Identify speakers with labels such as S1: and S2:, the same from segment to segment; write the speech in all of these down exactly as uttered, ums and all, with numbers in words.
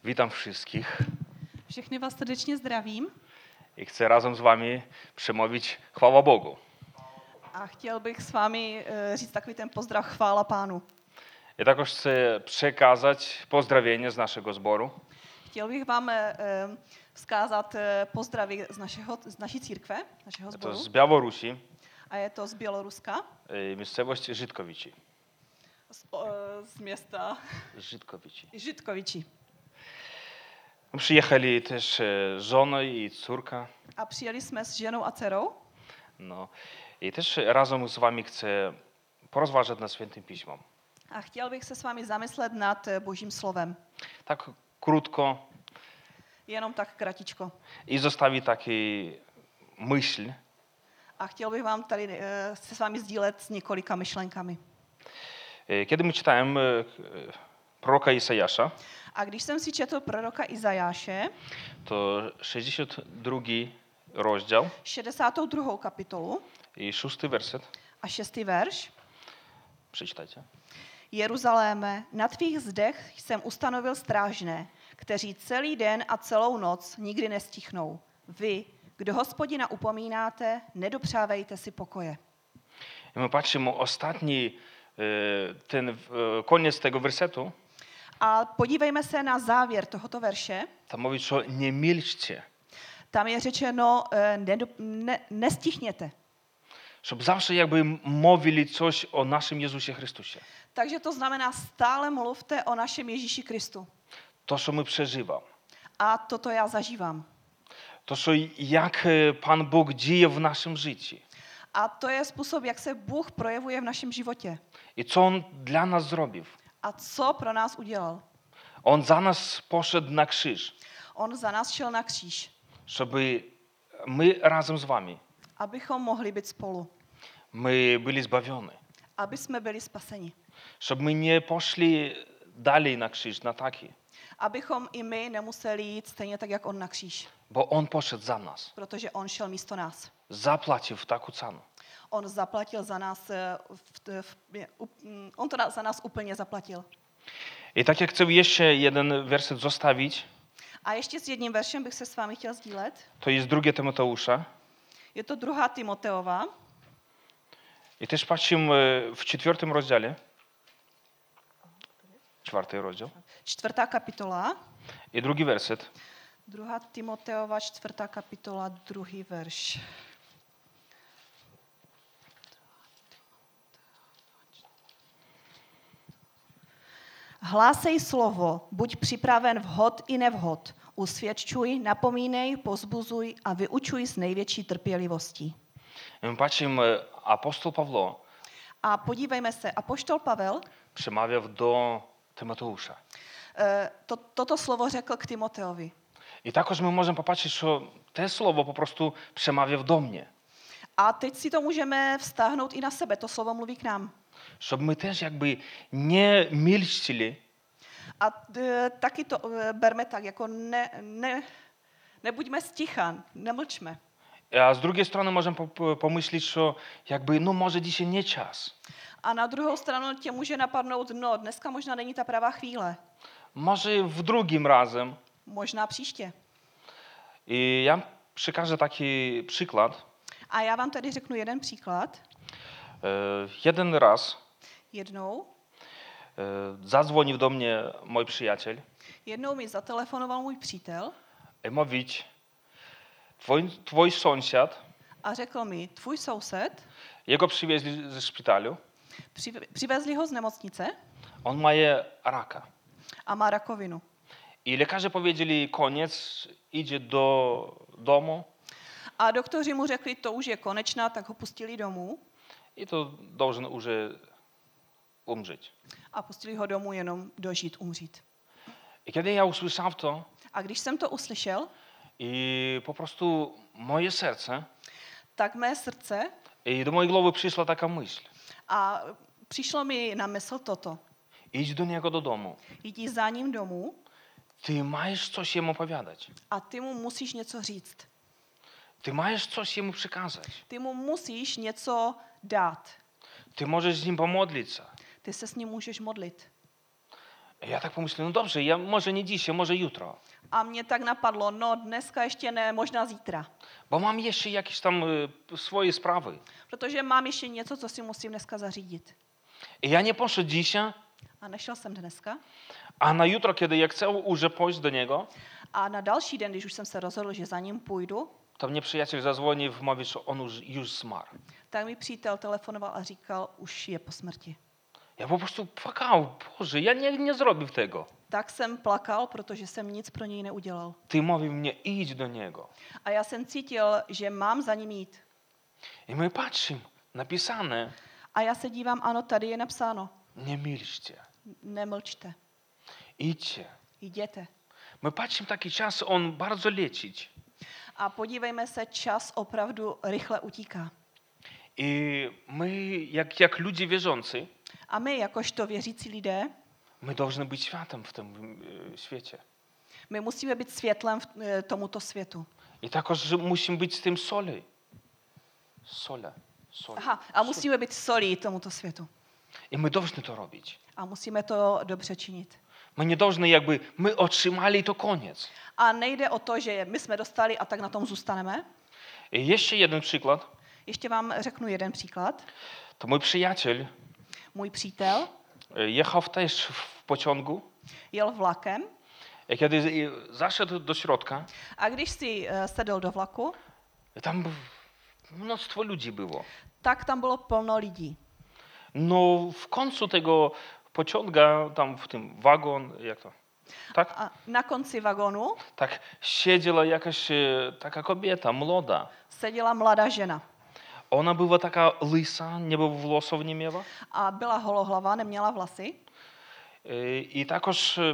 S1: Witam wszystkich
S2: Všechny vás srdečně zdravím
S1: i chcę razem z wami przemówić chwała Bogu.
S2: a chtěl bych s vámi eh, říct takový ten pozdrav chvála Pánu.
S1: I також chcę przekazać pozdrowienie z naszego zboru.
S2: Chtěl bych vám eh, eh, vzkázat eh, pozdravy z, našeho, z naší církve, našeho
S1: To
S2: sboru.
S1: z Białorusi,
S2: A je to z Běloruska,
S1: y, miejscowość Żydkowici.
S2: z, o, eh, z města
S1: Żydkowici.
S2: Žitkoviči.
S1: Przyjechali też e, żona i córka.
S2: A přijeli jsme s ženou a dcerou.
S1: No. I też razem z wami chcę porozważać nad Świętym Piśmem.
S2: A chtěl bych se s vámi zamyslet nad eh, Božím slovem.
S1: Tak krótko
S2: Jenom tak kratičko.
S1: i zostawić taki myśl.
S2: A chtěl bych vám tady eh, se s vámi sdílet s několika myšlenkami.
S1: E, Kiedy my czytałem e, e, proroka Isajasza,
S2: A když jsem si četl proroka Izajáše,
S1: to sześćdziesiąty drugi rozdział
S2: šedesátou druhou kapitolu
S1: i szósty werset.
S2: a šestý verš.
S1: Przeczytajcie.
S2: Jeruzaléme, na tvých zdech jsem ustanovil strážné, kteří celý den a celou noc nikdy nestichnou. Vy, kdo Hospodina upomínáte, nedopřávejte si pokoje.
S1: I my patrzymy ostatni e, ten e, koniec tego wersetu.
S2: A podívejme se na závěr tohoto verše.
S1: Tam mówi, że nie milczcie.
S2: Tam je řečeno, eh, nedo, ne, nestichněte.
S1: Żeby zawsze jakby mówili coś o naszym Jezusie Chrystusie.
S2: Takže to znamená, stále mluvte o našem Ježíši Kristu.
S1: To, co my przeżywam.
S2: A toto já zažívám.
S1: To, co jak e, Pan Bóg dzieje w naszym życiu.
S2: A to je způsob, jak se Bůh projevuje v našem životě.
S1: I co On dla nas zrobił.
S2: A co pro nás udělal.
S1: On za nas poszedł na krzyż.
S2: On za nás šel na kříž,
S1: Żeby my razem z wami,
S2: abychom mohli být spolu.
S1: my byli zbawieni.
S2: Aby jsme byli spaseni.
S1: Żeby my nie poszli dalej na krzyż, na taki.
S2: Abychom i my nemuseli jít stejně tak, jak on na kříž.
S1: Bo On poszedł za nas.
S2: Protože on šel místo nás.
S1: Zapłacił taką cenę.
S2: On zaplatil za nás, eh, v, v, v, on to na- za nás úplně zaplatil.
S1: I tak jak chcę jeszcze jeden werset zostawić,
S2: A ještě s jedním veršem bych se s vámi chtěl sdílet.
S1: to jest drugie Tymoteusza.
S2: Je to druhá Timoteova.
S1: I też patrzymy w czwartym rozdziale. Czwarty rozdział.
S2: Čtvrtá kapitola.
S1: I drugi werset.
S2: Druhá Timoteova, čtvrtá kapitola, druhý verš. Hlásej slovo, buď připraven vhod i nevhod. Usvědčuj, napomínej, pozbuzuj a vyučuj s největší trpělivostí.
S1: I my patrzymy, apostoł Pawło
S2: A podívejme se, apoštol Pavel
S1: przemawiał do Tymoteusza.
S2: eh, to, toto slovo řekl k Timoteovi.
S1: I takoż my możemy popatrzeć, że to słowo po prostu przemawia do mnie.
S2: A teď si to můžeme vztáhnout i na sebe, to slovo mluví k nám.
S1: Żeby my też jakby nie milczili,
S2: A e, taky to e, berme tak, jako ne, ne, nebuďme sticha, nemlčme.
S1: a z drugiej strony możemy po- po- pomyśleć, że jakby no może dzisiaj nie czas.
S2: A na druhou stranu tě může napadnout, no dneska možná není ta pravá chvíle,
S1: Może w drugim razem.
S2: možná příště.
S1: I ja przekażę taki przykład.
S2: A já vám tady řeknu jeden příklad.
S1: E, Jeden raz
S2: Jednou,
S1: e, zadzwonił do mnie mój przyjaciel
S2: jednou mi zatelefonoval můj přítel
S1: i mówić, twój, twój sąsiad,
S2: a řekl mi, tvůj soused,
S1: jego przywieźli ze szpitalu,
S2: přive- přivezli ho z nemocnice
S1: on ma raka.
S2: a má rakovinu.
S1: I lekarze powiedzieli, koniec, idzie do domu
S2: A doktoři mu řekli, to už je konečná, tak ho pustili domů
S1: i to должен уже umrzeć.
S2: a pustili ho domů jenom dožít, umřít.
S1: I kiedy ja usłyszałem to,
S2: A když jsem to uslyšel,
S1: i po prostu moje serce,
S2: tak mé srdce
S1: i do mojej głowy przyszła taka myśl.
S2: a přišlo mi na mysl toto.
S1: Idź do niego do domu.
S2: Jdi za ním domů
S1: Ty masz coś jemu opowiadać.
S2: a ty mu musíš něco říct.
S1: Ty masz coś jemu przekazać.
S2: Ty mu musíš něco dát.
S1: Ty możesz z nim pomodlić się.
S2: Ty se s ním můžeš modlit.
S1: Ja tak pomyślałem, no dobrze, ja może nie dzisiaj, może jutro.
S2: A mě tak napadlo, no dneska ještě ne, možná zítra.
S1: Bo mam jeszcze jakieś tam y, swoje sprawy.
S2: Protože mám ještě něco, co si musím dneska zařídit.
S1: I ja nie poszedł dzisiaj,
S2: A nešel jsem dneska.
S1: a na jutro, kiedy ja chcę już pójść do niego,
S2: A na další den, když už jsem se rozhodl, že za ním půjdu,
S1: to mnie przyjaciel zadzwonił i mówi, że on już, już zmarł.
S2: tak mi přítel telefonoval a říkal, už je po smrti.
S1: Ja po prostu płakał, Boże, ja nie, nie zrobił tego.
S2: Tak jsem plakal, protože jsem nic pro něj neudělal.
S1: Ty mówił mnie, idź do niego.
S2: A já jsem cítil, že mám za ním jít.
S1: I my patrzymy, napisane,
S2: A já se dívám, ano, tady je napsáno,
S1: nie milczcie,
S2: nemlčte,
S1: idźcie.
S2: jděte.
S1: My patrzymy taki czas, on bardzo lecić.
S2: A podívejme se, čas opravdu rychle utíká.
S1: I my, jak, jak ludzie wierzący,
S2: A my, jakožto věřící lidé,
S1: my должны być światem w tym y, świecie.
S2: my musíme být světlem v eh, tomuto světu.
S1: I також musimy być z tym soli. Sole. Sole.
S2: Aha, a musíme být solí tomuto světu.
S1: I my должны to robić.
S2: A musíme to dobře činit.
S1: My nie должны jakby, my otrzymali i to koniec.
S2: A nejde o to, že my jsme dostali a tak na tom zůstaneme.
S1: I jeszcze jeden przykład.
S2: Ještě vám řeknu jeden příklad.
S1: To mój przyjaciel
S2: Můj přítel
S1: y, jechał też w pociągu.
S2: jel vlakem
S1: I kiedy y, zaszedł do środka,
S2: a když si eh, sedl do vlaku,
S1: tam mnóstwo ludzi było.
S2: tak tam bylo plno lidí.
S1: No w końcu tego pociąga, tam w tym wagon, jak to? Tak?
S2: A na konci vagonu
S1: Tak siedziała jakaś e, taka kobieta, młoda.
S2: seděla mladá žena.
S1: Ona była taka lysa, nie było włosów nie miała.
S2: A byla holohlava, neměla vlasy.
S1: E, I takoż e,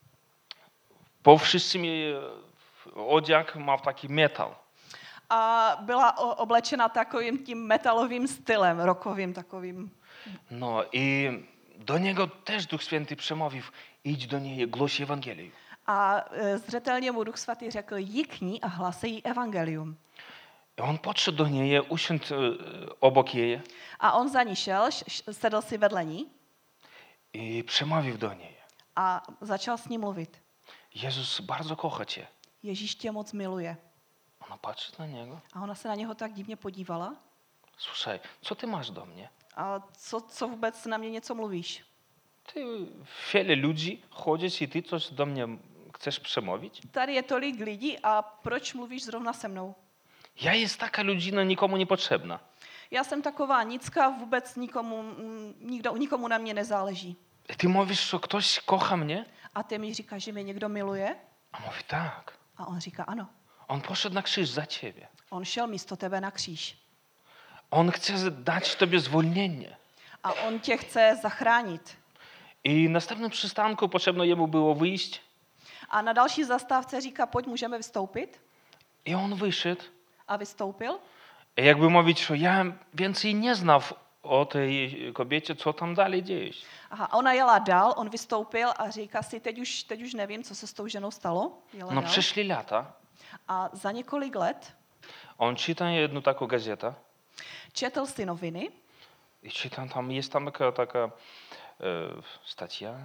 S1: po wszystkim jej e, odziak ma taki metal.
S2: A byla o- oblečena takovým tím metalovým stylem, rokovým takovým.
S1: No i do niego też Duch Święty przemówił, idź do niej, głoś Ewangelię.
S2: A e, zřetelně mu Duch Svatý řekl, jdi k ní a hlasej jí evangelium.
S1: I on podszedł do niej, usiadł e, obok jej
S2: A on za ní šel, š- š- sedl si vedle ní
S1: i przemówił do niej.
S2: a začal s ní mluvit.
S1: Jezus bardzo kocha cię.
S2: Ježíš tě moc miluje.
S1: Ona patrzy na niego.
S2: A ona se na něho tak divně podívala.
S1: Słuchaj, co ty masz do mnie?
S2: A co, co vůbec na mě něco mluvíš?
S1: Ty wiele ludzi chodzisz i ty coś do mnie chcesz przemówić?
S2: Tady je tolik lidí a proč mluvíš zrovna se mnou?
S1: Ja jest taka ludzina nikomu niepotrzebna.
S2: Já jsem taková nicka, vůbec nikomu, mm, nikdo, nikomu na mě nezáleží.
S1: Ty mówisz, że ktoś kocha mnie?
S2: A ty mi říkáš, že mě někdo miluje?
S1: A mówi tak.
S2: A on říká, ano.
S1: On poszedł na krzyż za ciebie.
S2: On šel místo tebe na kříž.
S1: On chce dać tobie zwolnienie.
S2: A on tě chce zachránit.
S1: I na następnym przystanku potrzebno jemu było wyjść.
S2: A na další zastávce říká, pojď, můžeme vystoupit.
S1: I on wyszedł.
S2: A vystoupil.
S1: I jakby mówić, że ja więcej nie znam o tej kobiecie, co tam dalej dzieje się.
S2: Aha, a ona jela dál, on vystoupil a říká si, teď už, teď už nevím, co se s tou ženou stalo. Jela
S1: No
S2: dál.
S1: przeszli lata.
S2: A za několik let
S1: On czyta jedną taką gazetę.
S2: četl si noviny
S1: I czytam, tam jest tam taka, taka e, stacja.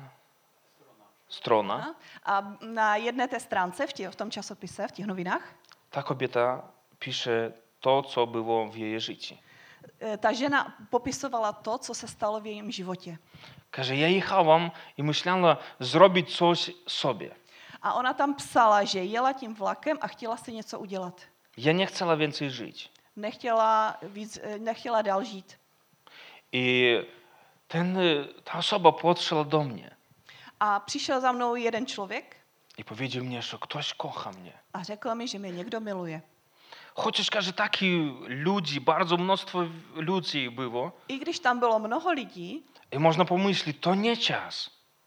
S1: Strona.
S2: a na jedné té stránce v, tě, v tom časopise, v těch novinách,
S1: Ta kobieta pisze to, co było w jej życiu.
S2: e, ta žena popisovala to, co se stalo v jejím životě.
S1: Każe, ja jechałam i myślała zrobić coś sobie.
S2: A ona tam psala, že jela tím vlakem a chtěla si něco udělat.
S1: Ja nie chciała więcej żyć.
S2: Nechtěla, víc, e, nechtěla dál žít.
S1: I ten, ta osoba podszła do mnie
S2: A přišel za mnou jeden člověk
S1: i powiedział mi, że ktoś kocha mnie.
S2: a řekl mi, že mě někdo miluje.
S1: Chociaż każe, takich ludzi, bardzo mnóstwo ludzi było.
S2: I když tam bylo mnoho lidí,
S1: I można pomyśleć, to nie czas.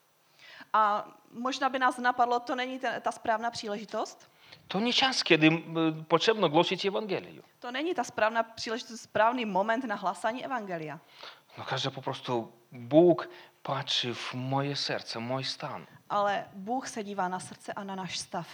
S2: a možná by nás napadlo, to není ta, ta správná příležitost,
S1: To nie czas, kiedy y, potrzebno głosić Ewangelię.
S2: to není ta správná příležitost, správný moment na hlásání evangelia.
S1: No każe, po prostu Bóg patrzy w moje serce, mój stan.
S2: Ale Bůh se dívá na srdce a na náš stav.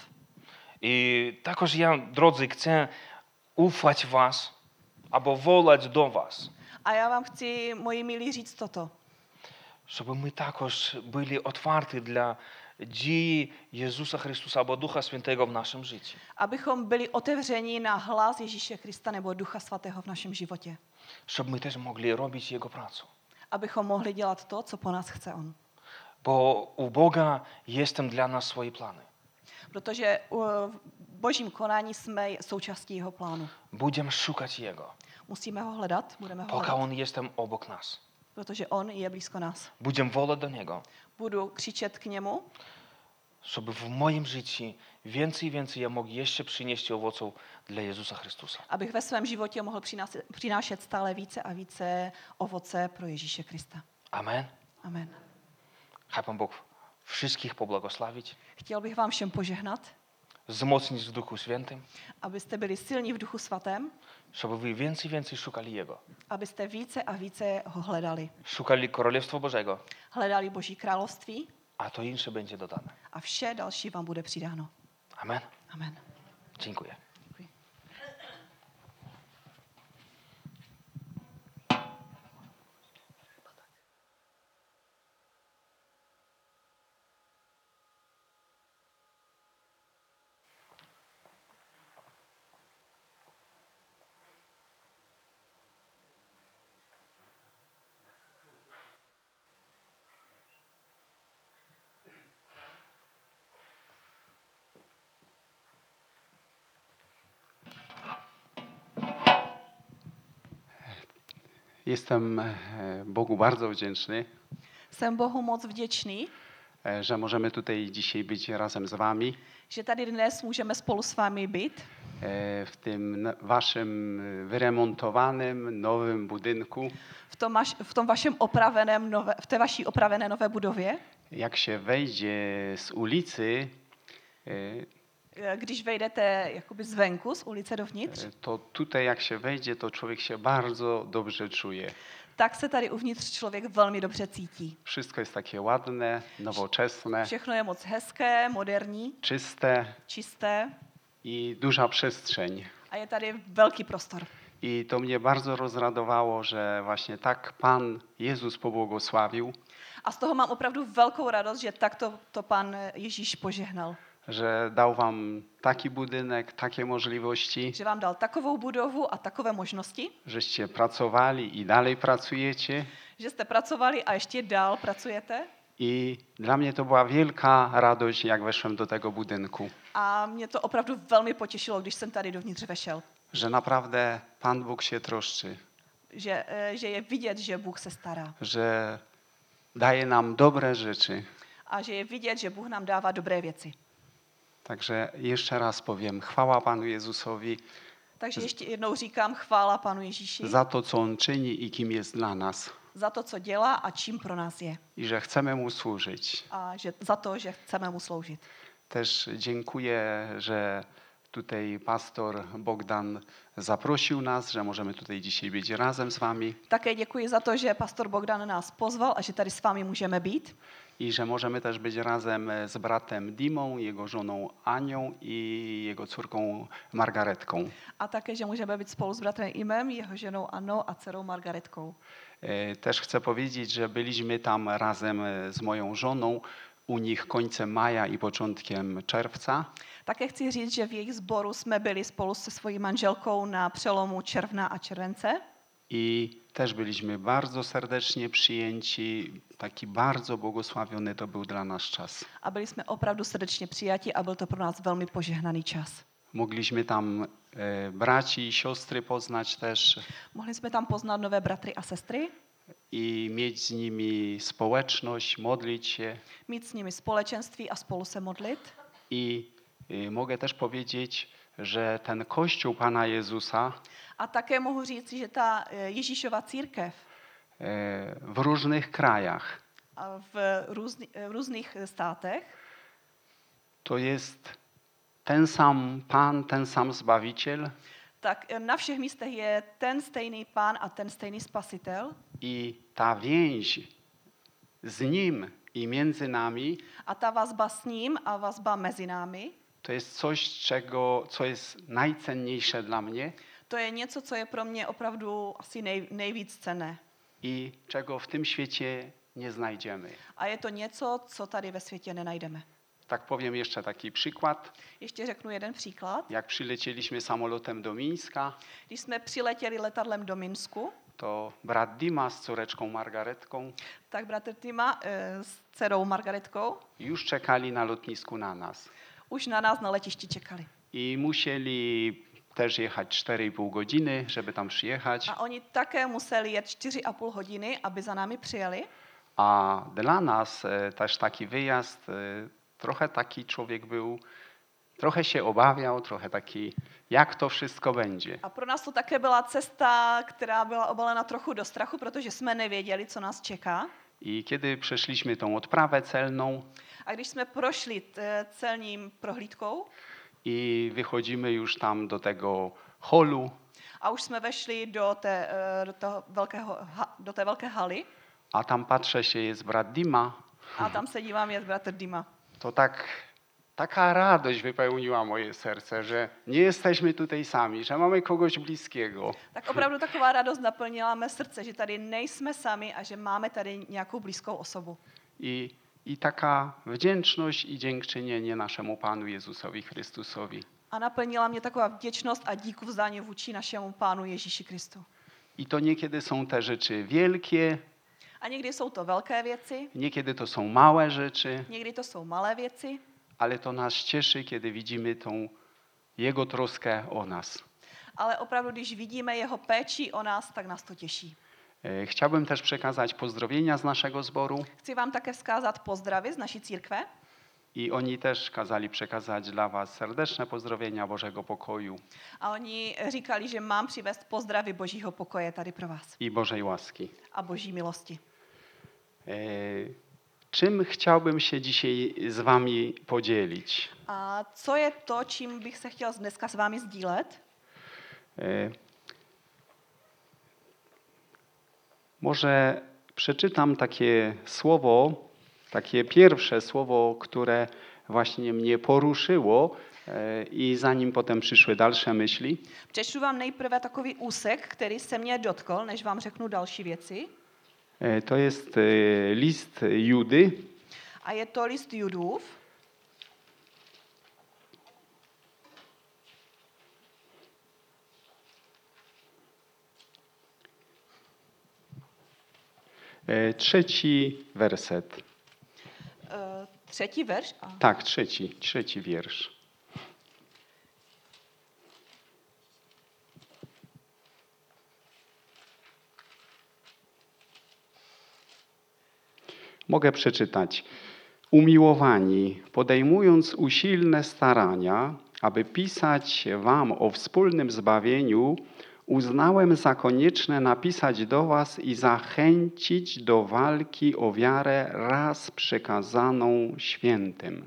S1: I takoż ja, drodzy, chcę ufać was, albo wolać do was,
S2: A já vám chci, moji milí, říct toto,
S1: Щоб ми також були otwarti dla дії Ісуса Хриstusa або Духа Святого в нашем życiu.
S2: Abychom byli otevření na hlas Ježíše Krista nebo Ducha Svatého v našem životě.
S1: Щоб ми теж могли робити Його працю.
S2: Abychom mohli dělat to, co po nás chce On.
S1: Бо у Бога є там для нас свої плани.
S2: Protože v božím konání jsme součástí jeho plánu.
S1: Будемо шукати Його.
S2: Musíme ho hledat, budeme ho
S1: Поки
S2: hledat,
S1: Він є там обок нас.
S2: protože on je blízko nás.
S1: Будемо волати до Нього.
S2: Budu křičet k němu,
S1: Щоб в моїм житті więcej i więcej ja mógł jeszcze przynieść owoców dla Jezusa Chrystusa.
S2: abych ve svém životě mohl přinášet, přinášet stále více a více ovoce pro Ježíše Krista.
S1: Amen.
S2: Amen.
S1: Хай Пан Бог wszystkich pobłogosławić,
S2: Chtěl bych vám všem požehnat,
S1: wzmocnić w Duchu Świętym,
S2: abyste byli silní v Duchu Svatém,
S1: żeby wy więcej i więcej szukali Jego.
S2: abyste více a více ho hledali.
S1: Szukali Królestwa Bożego,
S2: Hledali Boží království
S1: a to insze będzie dodane.
S2: a vše další vám bude přidáno.
S1: Amen.
S2: Amen.
S1: Dziękuję.
S2: Děkuji.
S3: Jestem e, Bogu bardzo wdzięczny,
S2: Jsem Bohu moc vděčný,
S3: e, że możemy tutaj dzisiaj być razem z wami
S2: že tady dnes můžeme spolu s vámi být
S3: e, w tym n- waszym e, wyremontowanym, nowym budynku.
S2: v tom, vaš, v tom vašem opraveném nové, v té vaší opravené nové budově.
S3: Jak się wejdzie z ulicy, e,
S2: Když vejdete jakoby zvenku, z ulice dovnitř,
S3: e, to tutaj jak się wejdzie, to człowiek się bardzo dobrze czuje.
S2: tak se tady uvnitř člověk velmi dobře cítí.
S3: Wszystko jest takie ładne, nowoczesne,
S2: Všechno je moc hezké, moderní,
S3: czyste
S2: čisté
S3: i duża przestrzeń.
S2: a je tady velký prostor.
S3: I to mnie bardzo rozradowało, że właśnie tak Pan Jezus pobłogosławił,
S2: A z toho mám opravdu velkou radost, že takto to pan Ježíš požehnal.
S3: że dał wam taki budynek, takie możliwości,
S2: Že vám dal takovou budovu a takové možnosti,
S3: żeście pracowali i dalej pracujecie.
S2: že jste pracovali a ještě dál pracujete.
S3: I dla mnie to była wielka radość, jak weszłem do tego budynku,
S2: A mě to opravdu velmi potěšilo, když jsem tady dovnitř vešel.
S3: że naprawdę Pan Bóg się troszczy,
S2: Že, eh, že je vidět, že Bůh se stará.
S3: że daje nam dobre rzeczy.
S2: A že je vidět, že Bůh nám dává dobré věci.
S3: Także jeszcze raz powiem, chwała Panu Jezusowi
S2: Takže ještě jednou říkám chvála Panu Ježíši
S3: za to, co On czyni i kim jest dla nas.
S2: za to, co dělá a čím pro nás je.
S3: I że chcemy Mu służyć.
S2: A že, za to, že chceme mu sloužit.
S3: Też dziękuję, że tutaj pastor Bogdan zaprosił nas, że możemy tutaj dzisiaj być razem z wami
S2: Také děkuji za to, že pastor Bogdan nás pozval a že tady s vámi můžeme být.
S3: i że możemy też być razem z bratem Dimą, jego żoną Anią i jego córką Margaretką.
S2: A také, že můžeme být spolu s bratrem Imem, jeho ženou Annou a dcerou Margaretkou.
S3: E, Też chcę powiedzieć, że byliśmy tam razem z moją żoną u nich końcem maja i początkiem czerwca.
S2: Také chci říct, že v jejich sboru jsme byli spolu se svojí manželkou na přelomu června a července.
S3: I też byliśmy bardzo serdecznie przyjęci. Taki bardzo błogosławiony to był dla nas czas.
S2: A byli jsme opravdu srdečně přijati a byl to pro nás velmi požehnaný čas.
S3: Mogliśmy tam e, braci i siostry poznać też
S2: Mohli jsme tam poznat nové bratry a sestry,
S3: i mieć z nimi społeczność, modlić się.
S2: mít s nimi společenství a spolu se modlit.
S3: I e, mogę też powiedzieć, że ten Kościół Pana Jezusa
S2: A také mohu říct, že ta eh, Ježíšova církev
S3: e, w różnych krajach
S2: a v, různý, eh, v různých státech
S3: to jest ten sam Pan, ten sam Zbawiciel
S2: tak eh, na všech místech je ten stejný pán a ten stejný spasitel.
S3: i ta więź z Nim i między nami
S2: A ta vazba s ním a vazba mezi námi,
S3: to jest coś, czego, co jest najcenniejsze dla mnie
S2: to je něco, co je pro mě opravdu asi nej, nejvíc cenné.
S3: i czego w tym świecie nie znajdziemy.
S2: A je to něco, co tady ve světě nenajdeme.
S3: Tak powiem jeszcze taki przykład.
S2: Ještě řeknu jeden příklad.
S3: Jak przylecieliśmy samolotem do Mińska,
S2: Když jsme přiletěli letadlem do Minsku,
S3: to brat Dima z córeczką Margaretką
S2: tak bratr Tima e, s dcerou Margaretkou
S3: już czekali na lotnisku na nas.
S2: už na nás na letišti čekali.
S3: I musieli też jechać cztery i pół godziny, żeby tam przyjechać.
S2: A oni také museli jet čtyři a půl hodiny, aby za námi přijeli.
S3: A dla nas e, też taki wyjazd, e, trochę taki człowiek był, trochę się obawiał, trochę taki, jak to wszystko będzie.
S2: A pro nás to také byla cesta, která byla obalena trochu do strachu, protože jsme nevěděli, co nás čeká.
S3: I kiedy przeszliśmy tą odprawę celną
S2: A když jsme prošli t- celním prohlídkou
S3: i wychodzimy już tam do tego holu,
S2: a už jsme vešli do té, eh, do toho velkého, ha- do té velké haly
S3: a tam patrzę się, jest brat Dima,
S2: a tam se dívám, je bratr Dima.
S3: to tak, taka radość wypełniła moje serce, że nie jesteśmy tutaj sami, że mamy kogoś bliskiego.
S2: Tak opravdu taková radost naplnila mé srdce, že tady nejsme sami a že máme tady nějakou blízkou osobu.
S3: I, I taka wdzięczność i dziękczynienie naszemu Panu Jezusowi Chrystusowi.
S2: A naplnila mě taková vděčnost a díku vzdání vůči našemu Pánu Ježíši Kristu.
S3: I to niekiedy są te rzeczy wielkie,
S2: A někdy jsou to velké věci,
S3: niekiedy to są małe rzeczy,
S2: někdy to jsou malé věci,
S3: ale to nas cieszy, kiedy widzimy tą Jego troskę o nas.
S2: ale opravdu, když vidíme jeho péči o nás, tak nás to těší.
S3: E, Chciałbym też przekazać pozdrowienia z naszego zboru
S2: Chci vám také vzkázat pozdravy z naší církve
S3: i oni też kazali przekazać dla was serdeczne pozdrowienia Bożego pokoju
S2: a oni říkali, že mám přivést pozdravy Božího pokoje tady pro vás
S3: i Bożej łaski.
S2: a Boží milosti.
S3: E, Czym chciałbym się dzisiaj z wami podzielić?
S2: A co je to, čím bych se chtěl dneska s vámi sdílet?
S3: E, Może przeczytam takie słowo, takie pierwsze słowo, które właśnie mnie poruszyło e, i zanim potem przyszły dalsze myśli.
S2: Přečtu vám nejprve takový úsek, který se mě dotkl, než vám řeknu další věci.
S3: E, To jest e, list Judy,
S2: A je to list Judův.
S3: e, trzeci werset.
S2: E, třetí verš. A.
S3: Tak, trzeci, trzeci wiersz. Mogę przeczytać. Umiłowani, podejmując usilne starania, aby pisać wam o wspólnym zbawieniu, uznałem za konieczne napisać do was i zachęcić do walki o wiarę raz przekazaną świętym.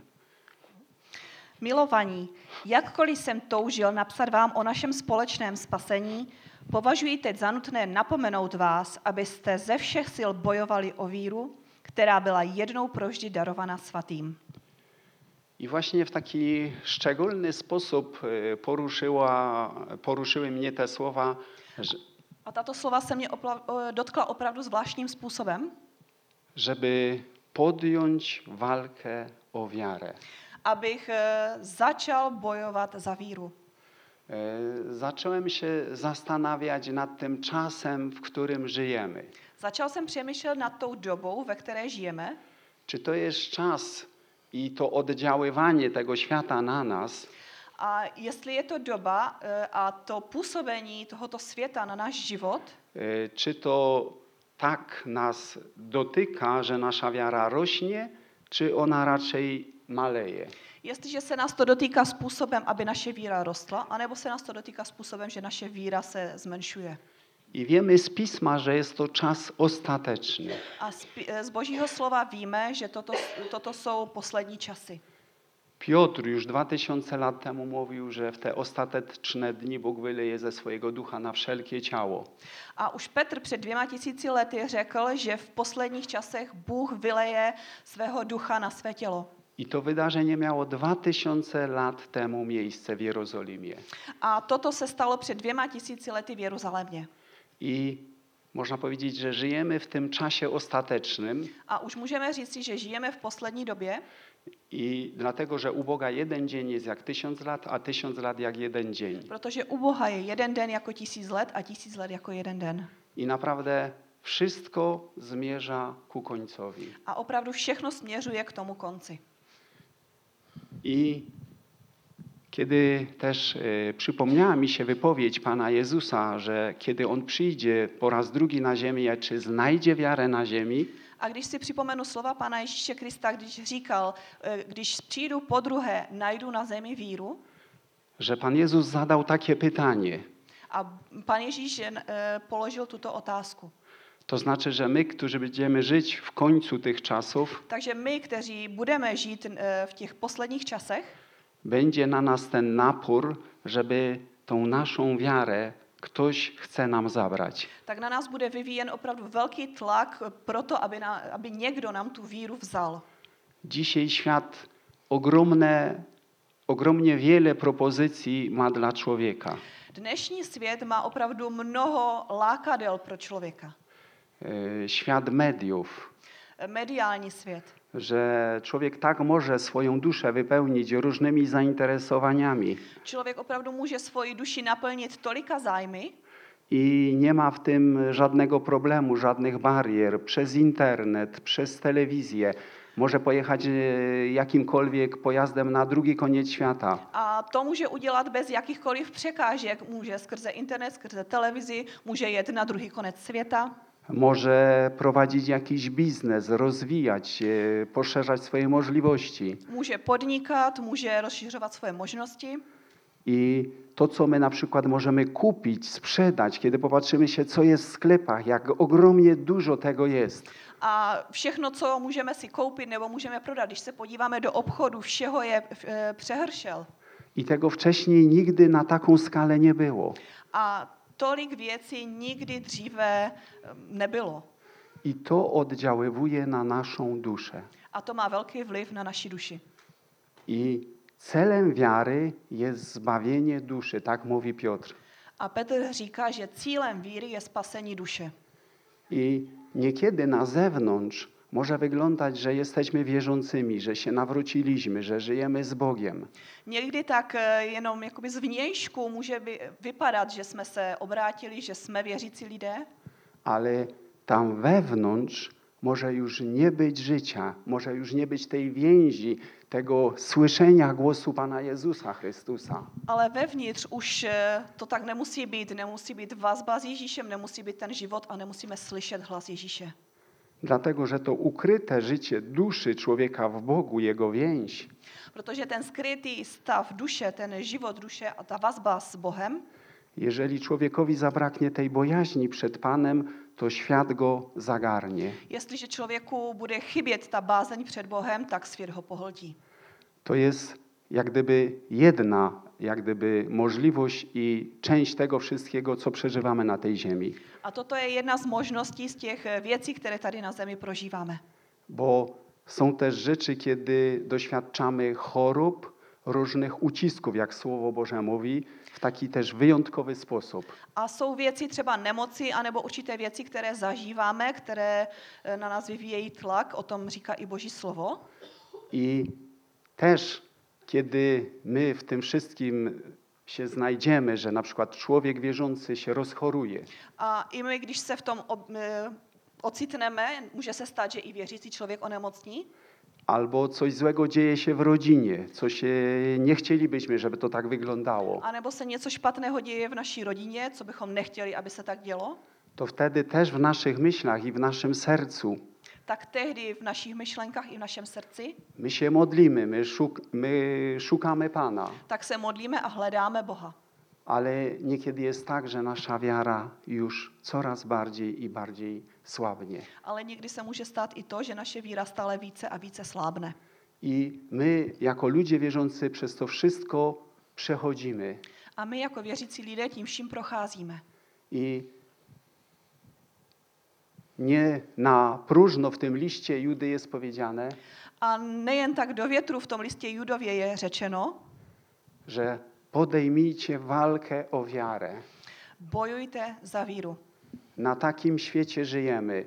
S2: Milovaní, jakkoliv jsem toužil napsat vám o našem společném spasení, považuji teď za nutné napomenout vás, abyste ze všech sil bojovali o víru, která byla jednou provždy darovaná svatým.
S3: I właśnie w taki szczególny sposób e, poruszyła, poruszyły mnie te słowa, że,
S2: A tato slova se mě opla- o- dotkla opravdu zvláštním způsobem,
S3: żeby podjąć walkę o wiarę.
S2: abych e, začal bojovat za víru.
S3: E, Zacząłem się zastanawiać nad tym czasem, w którym żyjemy.
S2: Začal jsem přemýšlet nad tou dobou, ve které žijeme,
S3: Czy to jest czas i to oddziaływanie tego świata na nas,
S2: a jestli je to doba e, a to působení tohoto světa na náš život,
S3: e, czy to tak nas dotyka, że nasza wiara rośnie, czy ona raczej maleje?
S2: jestliže se nás to dotýká způsobem, aby naše víra rostla, anebo se nás to dotýká způsobem, že naše víra se zmenšuje.
S3: I wiemy z Pisma, że jest to czas ostateczny.
S2: A z, pi- z Božího slova víme, že toto, toto jsou poslední časy.
S3: Piotr już dwa tysiące lat temu mówił, że w te ostateczne dni Bóg wyleje ze swojego ducha na wszelkie ciało.
S2: A už Petr před dvěma tisíci lety řekl, že v posledních časech Bůh vyleje svého ducha na své tělo.
S3: I to wydarzenie miało dwa tysiące lat temu miejsce w Jerozolimie.
S2: A toto se stalo před dvěma tisíci lety v Jeruzalémě.
S3: I Można powiedzieć, że żyjemy w tym czasie ostatecznym
S2: A už můžeme říci, že žijeme v poslední době,
S3: i dlatego, że u Boga jeden dzień jest jak tysiąc lat, a tysiąc lat jak jeden dzień.
S2: protože u Boha je jeden den jako tisíc let a tisíc let jako jeden den.
S3: I naprawdę wszystko zmierza ku końcowi.
S2: A opravdu všechno směřuje k tomu konci.
S3: I kiedy też e, przypomniała mi się wypowiedź Pana Jezusa, że kiedy On przyjdzie po raz drugi na ziemię, czy znajdzie wiarę na ziemi,
S2: A když si připomenu slova Pána Ježíše Krista, když říkal, eh, když přijdu po druhé, najdu na zemi víru,
S3: że Pan Jezus zadał takie pytanie.
S2: a Pán Ježíš eh, položil tuto otázku.
S3: To znaczy, że my, którzy będziemy żyć w końcu tych czasów,
S2: Takže my, kteří budeme žít eh, v těch posledních časech,
S3: będzie na nas ten napór, żeby tą naszą wiarę ktoś chce nam zabrać.
S2: tak na nás bude vyvíjen opravdu velký tlak pro to, aby, na, aby někdo nám tu víru vzal.
S3: Dzisiaj świat ogromne, ogromnie wiele propozycji ma dla człowieka.
S2: Dnešní svět má opravdu mnoho lákadel pro člověka.
S3: E, Świat mediów,
S2: Mediální svět.
S3: że człowiek tak może swoją duszę wypełnić różnymi zainteresowaniami
S2: Člověk opravdu může svoji duši naplnit tolika zájmy
S3: i nie ma w tym żadnego problemu, żadnych barier. Przez internet, przez telewizję może pojechać e, jakimkolwiek pojazdem na drugi koniec świata.
S2: a to může udělat bez jakýchkoliv překážek. Může skrze internet, skrze televizi, může jet na druhý konec světa.
S3: Może prowadzić jakiś biznes, rozwijać się, poszerzać swoje możliwości.
S2: Může podnikat, může rozšiřovat svoje možnosti.
S3: I to, co my na przykład możemy kupić, sprzedać, kiedy popatrzymy się, co jest w sklepach, jak ogromnie dużo tego jest.
S2: A všechno, co můžeme si koupit nebo můžeme prodat, když se podíváme do obchodu, všeho je e, přehršel.
S3: I tego wcześniej nigdy na taką skalę nie było.
S2: A tolik věcí nikdy dříve nebylo.
S3: I to oddziaływuje na naszą duszę.
S2: A to má velký vliv na naši duši.
S3: I celem wiary jest zbawienie duszy, tak mówi Piotr.
S2: A Petr říká, že cílem víry je spasení duše.
S3: I niekiedy na zewnątrz może wyglądać, że jesteśmy wierzącymi, że się nawróciliśmy, że żyjemy z Bogiem.
S2: Někdy tak e, jenom jakoby zvnějšku může by, vypadat, že jsme se obrátili, že jsme věřící lidé,
S3: Ale tam wewnątrz może już nie być życia, może już nie być tej więzi, tego słyszenia głosu Pana Jezusa Chrystusa.
S2: ale vevnitř už e, to tak nemusí být. Nemusí být vazba s Ježíšem, nemusí být ten život a nemusíme slyšet hlas Ježíše.
S3: Dlatego, że to ukryte życie duszy człowieka w Bogu, jego więź,
S2: Protože ten skrytý stav duše, ten život duše a ta vazba s Bohem,
S3: jeżeli człowiekowi zabraknie tej bojaźni przed Panem, to świat go zagarnie.
S2: jestliže člověku bude chybět ta bázeň před Bohem, tak svět ho pohltí.
S3: To jest jak gdyby jedna, jak gdyby możliwość i część tego wszystkiego, co przeżywamy na tej ziemi.
S2: A toto je jedna z možností z těch e, věcí, které tady na zemi prožíváme.
S3: Bo są też rzeczy, kiedy doświadczamy chorób, różnych ucisków, jak Słowo Boże mówi, w taki też wyjątkowy sposób.
S2: A jsou věci třeba nemoci, anebo určité věci, které zažíváme, které e, na nás vyvíjejí tlak, o tom říká i Boží slovo.
S3: I też, kiedy my w tym wszystkim się znajdziemy, że na przykład człowiek wierzący się rozchoruje,
S2: A i my, když se v tom ob, e, ocitneme, může se stát, že i věřící člověk onemocní,
S3: albo coś złego dzieje się w rodzinie, co się nie chcielibyśmy, żeby to tak wyglądało,
S2: anebo se něco špatného děje v naší rodině, co bychom nechtěli, aby se tak dělo,
S3: to wtedy też w naszych myślach i w naszym sercu
S2: tak tehdy v našich myšlenkách i v našem srdci,
S3: my się modlimy, my, szuk, my szukamy Pana,
S2: tak se modlíme a hledáme Boha.
S3: ale niekiedy jest tak, że nasza wiara już coraz bardziej i bardziej słabnie.
S2: Ale někdy se může stát i to, že naše víra stále více a více slábne.
S3: I my, jako ludzie wierzący, przez to wszystko przechodzimy.
S2: A my jako věřící lidé tím vším procházíme.
S3: I nie na próżno w tym liście Judy jest powiedziane,
S2: A nejen tak do větru v tom listě Judově je řečeno,
S3: że podejmijcie walkę o wiarę.
S2: bojujte za víru.
S3: Na takim świecie żyjemy.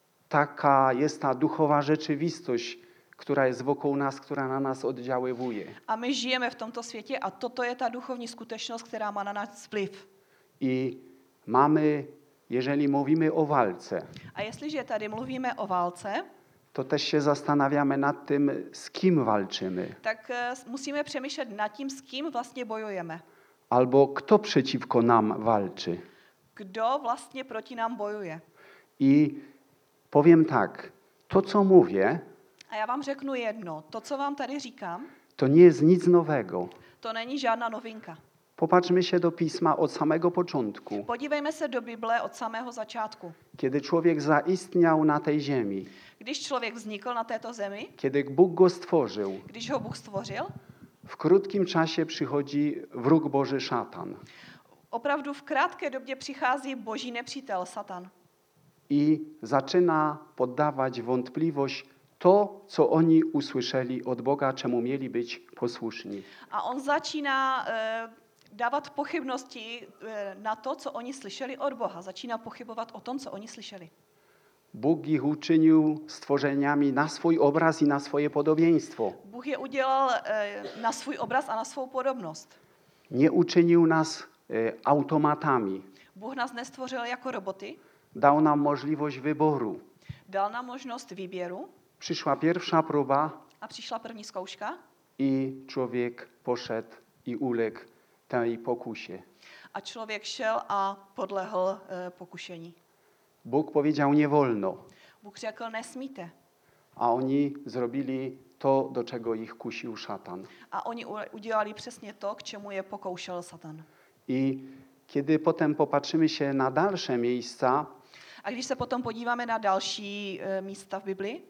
S3: Taka jest ta duchowa rzeczywistość, która jest wokół nas, która na nas oddziaływuje.
S2: A my žijeme v tomto světě a toto je ta duchovní skutečnost, která má na nás vliv.
S3: I mamy, jeżeli mówimy o walce,
S2: A jestliže tady mluvíme o válce,
S3: to też się zastanawiamy nad tym, z kim walczymy,
S2: tak eh, musíme přemýšlet nad tím, s kým vlastně bojujeme.
S3: albo kto przeciwko nam walczy.
S2: Kdo vlastně proti nám bojuje.
S3: I powiem tak, to co mówię,
S2: A já vám řeknu jedno, to, co vám tady říkám,
S3: to nie jest nic nowego.
S2: to není žádná novinka.
S3: Popatrzmy się do Pisma od samego początku,
S2: Podívejme se do Bible od samého začátku.
S3: kiedy człowiek zaistniał na tej ziemi,
S2: Když člověk vznikl na této zemi,
S3: kiedy Bóg go stworzył,
S2: když ho Bůh stvořil,
S3: w krótkim czasie przychodzi wróg Boży szatan
S2: opravdu v krátké době přichází boží nepřítel Satan
S3: i zaczyna poddawać wątpliwość to, co oni usłyszeli od Boga, czemu mieli być posłuszni.
S2: a on začíná eh, dávat pochybnosti eh, na to, co oni slyšeli od Boha. Začíná pochybovat o tom, co oni slyšeli.
S3: Bóg ich uczynił stworzeniami na swój obraz i na swoje podobieństwo.
S2: Bůh je udělal eh, na svůj obraz a na svou podobnost.
S3: Nie uczynił nas e, automatami.
S2: Bůh nás nestvořil jako roboty,
S3: Dał nam możliwość wyboru.
S2: dal nám možnost výběru
S3: Przyszła pierwsza próba
S2: a přišla první zkouška
S3: i człowiek poszedł i uległ tej pokusie.
S2: a člověk šel a podlehl eh, pokušení.
S3: Bóg powiedział nie wolno,
S2: Bůh řekl, nesmíte.
S3: a oni zrobili to, do czego ich kusił szatan.
S2: A oni u- udělali přesně to, k čemu je pokoušel Satan.
S3: I kiedy potem popatrzymy się na dalsze miejsca,
S2: A když se potom podíváme na další eh, místa v Biblii,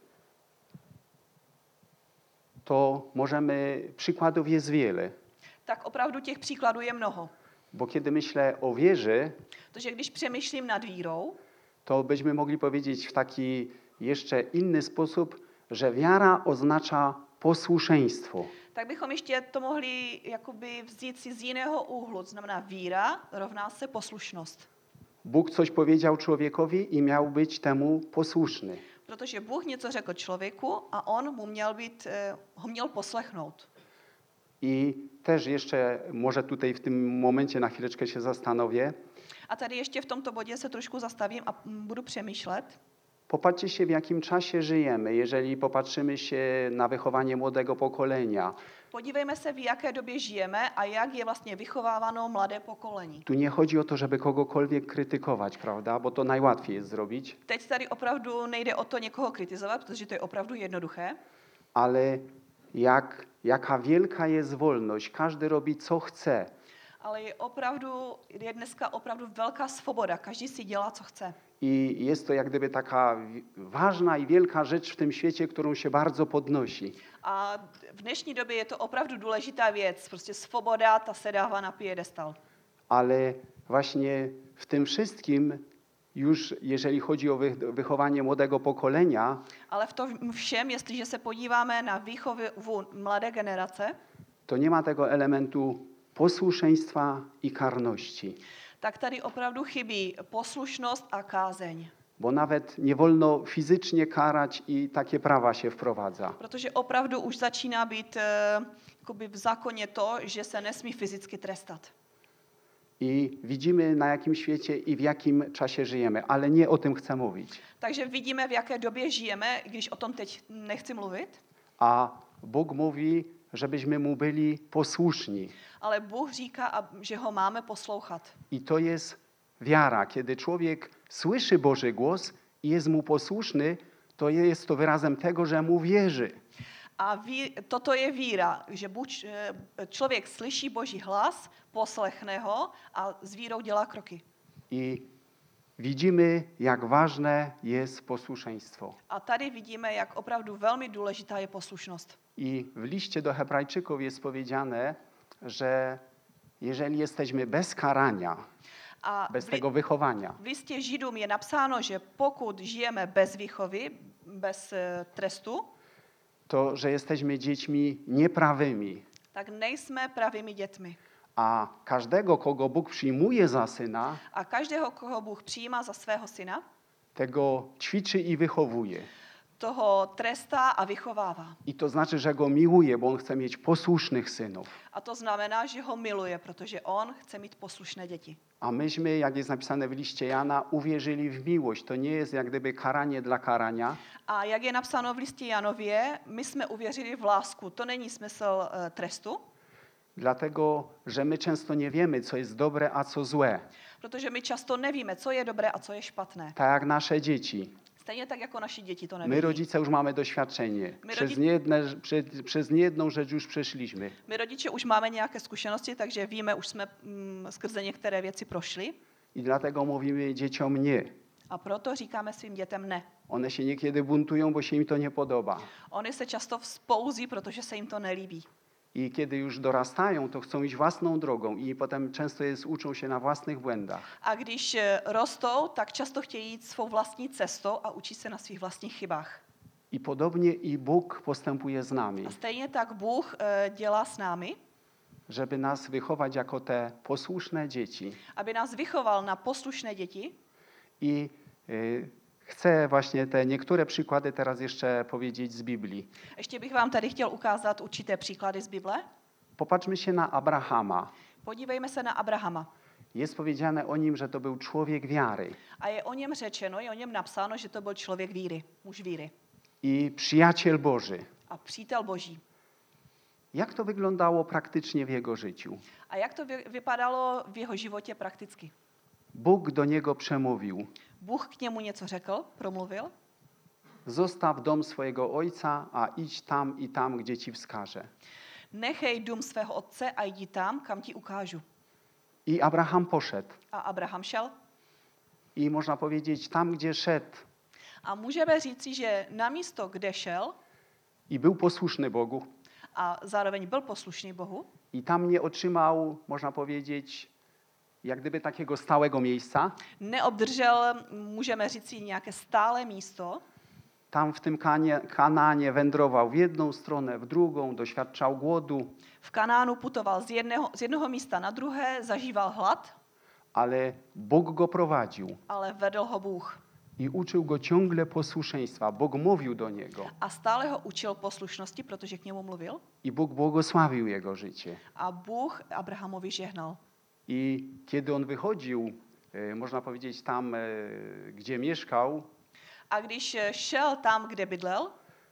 S3: to możemy, przykładów jest wiele.
S2: tak opravdu těch příkladů je mnoho.
S3: Bo kiedy myślę o wierze,
S2: Protože když přemýšlím nad vírou,
S3: to byśmy mogli powiedzieć w taki jeszcze inny sposób, że wiara oznacza posłuszeństwo.
S2: tak bychom ještě to mohli jakoby vzít si z jiného úhlu. To znamená víra rovná se poslušnost.
S3: Bóg coś powiedział człowiekowi i miał być temu posłuszny.
S2: Protože Bůh něco řekl člověku a on mu měl být, eh, ho měl poslechnout.
S3: I też jeszcze może tutaj w tym momencie na chwileczkę się zastanowię.
S2: A tady ještě v tomto bodě se trošku zastavím a mm, budu přemýšlet.
S3: Popatrzcie się, w jakim czasie żyjemy, jeżeli popatrzymy się na wychowanie młodego pokolenia.
S2: Podívejme se, v jaké době žijeme a jak je vlastně vychováváno mladé pokolení.
S3: Tu nie chodzi o to, żeby kogokolwiek krytykować, prawda? Bo to najłatwiej jest zrobić,
S2: Teď tady opravdu nejde o to někoho kritizovat, protože to je opravdu jednoduché,
S3: ale jak, jaka wielka jest wolność. Każdy robi, co chce.
S2: ale je opravdu, je dneska opravdu velká svoboda. Každý si dělá, co chce.
S3: I jest to jak gdyby taka wi- ważna i wielka rzecz w tym świecie, którą się bardzo podnosi.
S2: A v dnešní době je to opravdu důležitá věc. Prostě svoboda, ta se dává na piedestal.
S3: Ale właśnie w tym wszystkim, już jeżeli chodzi o wy- wychowanie młodego pokolenia,
S2: Ale v tom všem, jestliže se podíváme na výchovu mladé generace,
S3: to nie ma tego elementu posłuszeństwa i karności.
S2: tak tady opravdu chybí poslušnost a kázeň.
S3: Bo nawet nie wolno fizycznie karać i takie prawa się wprowadza.
S2: Protože opravdu už začíná být eh, jakoby v zákoně to, že se nesmí fyzicky trestat.
S3: I widzimy, na jakim świecie i w jakim czasie żyjemy, ale nie o tym chcę mówić.
S2: Takže vidíme, v jaké době žijeme, i když o tom teď nechci mluvit,
S3: A Bóg mówi, żebyśmy mu byli posłuszni.
S2: ale Bůh říká, a- že ho máme poslouchat.
S3: I to jest wiara. Kiedy człowiek słyszy Boży głos i jest mu posłuszny, to jest to wyrazem tego, że mu wierzy.
S2: A ví, toto je víra, že buď eh, člověk slyší Boží hlas, poslechne ho a s vírou dělá kroky.
S3: I widzimy, jak ważne jest posłuszeństwo.
S2: A tady vidíme, jak opravdu velmi důležitá je poslušnost.
S3: I w liście do Hebrajczyków jest powiedziane, że jeżeli jesteśmy bez karania,
S2: A
S3: bez
S2: v, li-
S3: tego wychowania,
S2: v listě Židům je napsáno, že pokud žijeme bez výchovy, bez eh, trestu,
S3: to że jesteśmy dziećmi nieprawymi.
S2: tak nejsme pravými dětmi.
S3: A każdego, kogo Bóg przyjmuje za syna,
S2: A každého, koho Bůh přijímá za svého syna,
S3: tego ćwiczy i wychowuje.
S2: toho trestá a vychovává.
S3: I to znaczy, że go miłuje, bo on chce mieć posłusznych synów.
S2: A to znamená, že ho miluje, protože on chce mít poslušné děti.
S3: A myśmy, jak jest napisane w liście Jana, uwierzyli w miłość. To nie jest jak gdyby karanie dla karania,
S2: A jak je napsáno v listě Janově, my jsme uvěřili v lásku. To není smysl uh, trestu,
S3: dlatego, że my często nie wiemy, co jest dobre, a co złe.
S2: protože my často nevíme, co je dobré a co je špatné.
S3: Tak jak nasze dzieci.
S2: Stejně tak jako naši děti to
S3: My
S2: neví.
S3: rodzice już mamy doświadczenie.
S2: My
S3: Przez,
S2: rodzi-
S3: niejedne, prze, przez niejedną rzecz już przeszliśmy.
S2: My rodiče už máme nějaké zkušenosti, takže víme, už jsme mm, skrze některé věci prošli.
S3: I dlatego mówimy dzieciom nie.
S2: A proto říkáme svým dětem ne.
S3: One się niekiedy buntują, bo się im to nie podoba.
S2: Oni se často vzpouzí, protože se jim to nelíbí.
S3: I kiedy już dorastają, to chcą iść własną drogą i potem często jest, uczą się na własnych błędach.
S2: A když eh, rostou, tak často chtějí jít svou vlastní cestou a učí se na svých vlastních chybách.
S3: I podobnie i Bóg postępuje z nami,
S2: A stejně tak Bůh eh, dělá s námi,
S3: żeby nas wychować jako te posłuszne dzieci.
S2: aby nás vychoval na poslušné děti.
S3: I y, chcę właśnie te niektóre przykłady teraz jeszcze powiedzieć z Biblii.
S2: Ještě bych vám tady chtěl ukázat určité příklady z Bible.
S3: Popatrzmy się na Abrahama.
S2: Podívejme se na Abrahama.
S3: Jest powiedziane o nim, że to był człowiek wiary
S2: A je o něm řečeno, je o něm napsáno, že to byl člověk víry, muž víry
S3: i przyjaciel Boży.
S2: a přítel Boží.
S3: Jak to wyglądało praktycznie w jego życiu?
S2: A jak to vy, vypadalo v jeho životě prakticky?
S3: Bóg do niego przemówił:
S2: Bůh k němu něco řekl, promluvil.
S3: zostaw dom swojego ojca, a idź tam i tam, gdzie ci wskażę.
S2: Nechej dům svého otce a jdi tam, kam ti ukážu.
S3: I Abraham poszedł.
S2: A Abraham šel.
S3: I można powiedzieć, tam gdzie szedł
S2: A můžeme říci, že na místo, kde šel,
S3: i był posłuszny Bogu,
S2: a zároveň byl poslušný Bohu,
S3: i tam nie otrzymał, można powiedzieć, jak gdyby takiego stałego miejsca.
S2: neobdržel, můžeme říci, nějaké stále místo.
S3: Tam w tym Kanie, Kanaanie wędrował w jedną stronę, w drugą, doświadczał głodu,
S2: V Kanánu putoval z jednoho, z jednoho místa na druhé, zažíval hlad,
S3: ale Bóg go prowadził
S2: ale vedl ho Bůh.
S3: i uczył go ciągle posłuszeństwa. Bóg mówił do niego
S2: A stále ho učil poslušnosti, protože k němu mluvil.
S3: i Bóg błogosławił jego życie.
S2: A Bůh Abrahamovi žehnal.
S3: I kiedy on wychodził, e, można powiedzieć, tam, e, gdzie mieszkał,
S2: A když šel tam, kde bydlel,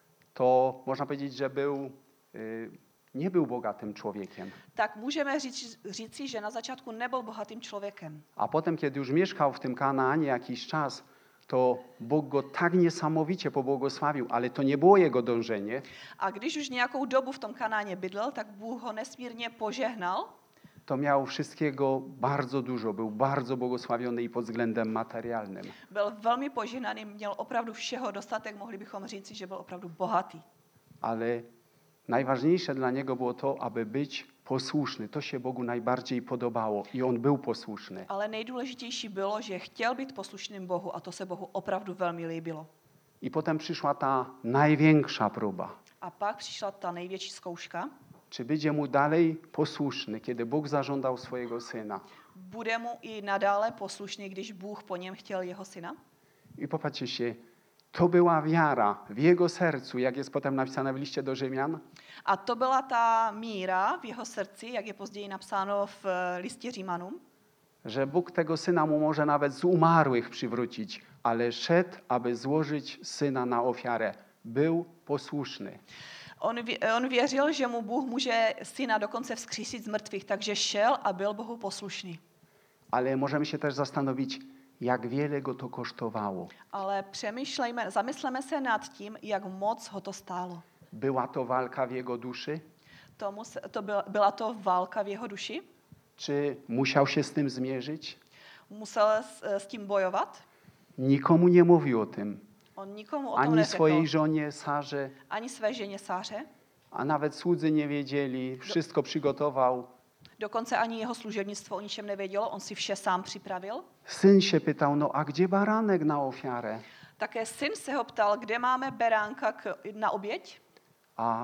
S3: to można powiedzieć, że był, e, nie był bogatym człowiekiem.
S2: tak můžeme říct, říci, že na začátku nebyl bohatým člověkem.
S3: A potem, kiedy już mieszkał w tym Kanaanie jakiś czas, to Bóg go tak niesamowicie pobłogosławił, ale to nie było jego dążenie.
S2: A když už nějakou dobu v tom Kanáně bydlel, tak Bůh ho nesmírně požehnal.
S3: To miał wszystkiego bardzo dużo, był bardzo błogosławiony i pod względem materialnym.
S2: Byl velmi požehnaný, měl opravdu všeho dostatek, mohli bychom říci, že byl opravdu bohatý.
S3: Ale najważniejsze dla niego było to, aby być posłuszny. To się Bogu najbardziej podobało i on był posłuszny.
S2: Ale nejdůležitější bylo, že chtěl být poslušným Bohu a to se Bohu opravdu velmi líbilo.
S3: I potem przyszła ta największa próba.
S2: A pak přišla ta největší zkouška.
S3: Czy będzie mu dalej posłuszny, kiedy Bóg zażądał swojego syna?
S2: Bude mu i nadále poslušný, když Bůh po něm chtěl jeho syna?
S3: I popatrzcie się, to była wiara w jego sercu, jak jest potem napisane w liście do Rzymian,
S2: A to byla ta míra v jeho srdci, jak je později napsáno v eh, listě Římanům,
S3: że Bóg tego syna mu może nawet z umarłych przywrócić, ale szedł, aby złożyć syna na ofiarę. Był posłuszny.
S2: On, vě- on věřil, že mu Bůh může syna dokonce vzkřísit z mrtvých, takže šel a byl Bohu poslušný.
S3: Ale możemy się też zastanowić, jak wiele go to kosztowało.
S2: Ale přemýšlejme, zamysleme se nad tím, jak moc ho to stálo.
S3: Była to walka w jego duszy?
S2: Tomu se, to byla, byla to válka v jeho duši?
S3: Czy musiał się z tym zmierzyć?
S2: Musel s, s tím bojovat?
S3: Nikomu nie mówił o tym.
S2: On nikomu o tom
S3: Ani
S2: neřekl.
S3: swojej żonie Sarze,
S2: Ani své ženě Sáře.
S3: a nawet słudzy nie wiedzieli. Wszystko przygotował.
S2: Dokonce ani jeho služebnictvo o ničem nevědělo, on si vše sám připravil.
S3: Syn się pytał, no a gdzie baranek na ofiarę?
S2: Také syn se ho ptal, kde máme beránka k, na oběť.
S3: A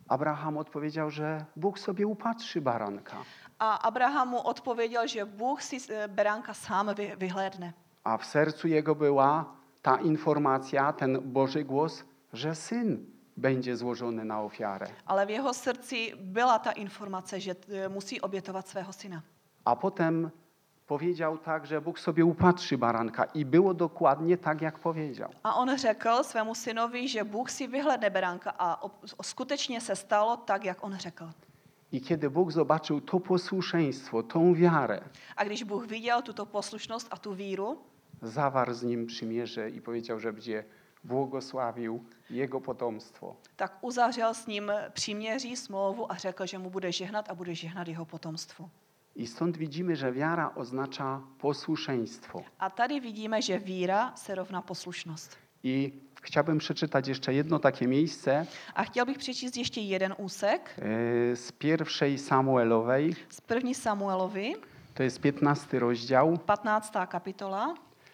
S3: Abraham odpowiedział, że Bóg sobie upatrzy baranka.
S2: A Abraham mu odpověděl, že Bůh si eh, beránka sám vy- vyhlédne.
S3: A w sercu jego była ta informacja, ten Boży głos, że syn będzie złożony na ofiarę.
S2: Ale v jeho srdci byla ta informace, že eh, musí obětovat svého syna.
S3: A potem powiedział tak, że Bóg sobie upatrzy baranka i było dokładnie tak, jak powiedział.
S2: A on řekl svému synovi, že Bůh si vyhledne beránka a ob- skutečně se stalo tak, jak on řekl.
S3: I kiedy Bóg zobaczył to posłuszeństwo, tą wiarę,
S2: A když Bůh viděl tuto poslušnost a tu víru,
S3: zawarł z nim przymierze i powiedział, że będzie błogosławił jego potomstwo.
S2: tak uzavřel s ním příměří, smlouvu a řekl, že mu bude žehnat a bude žehnat jeho potomstvu.
S3: I stąd widzimy, że wiara oznacza posłuszeństwo.
S2: A tady vidíme, že víra se rovná poslušnost.
S3: I chciałbym przeczytać jeszcze jedno takie miejsce
S2: A chtěl bych přečíst ještě jeden úsek
S3: e, z pierwszej Samuelowej.
S2: z první Samuelovi,
S3: To jest piętnasty rozdział.
S2: patnáctá kapitola.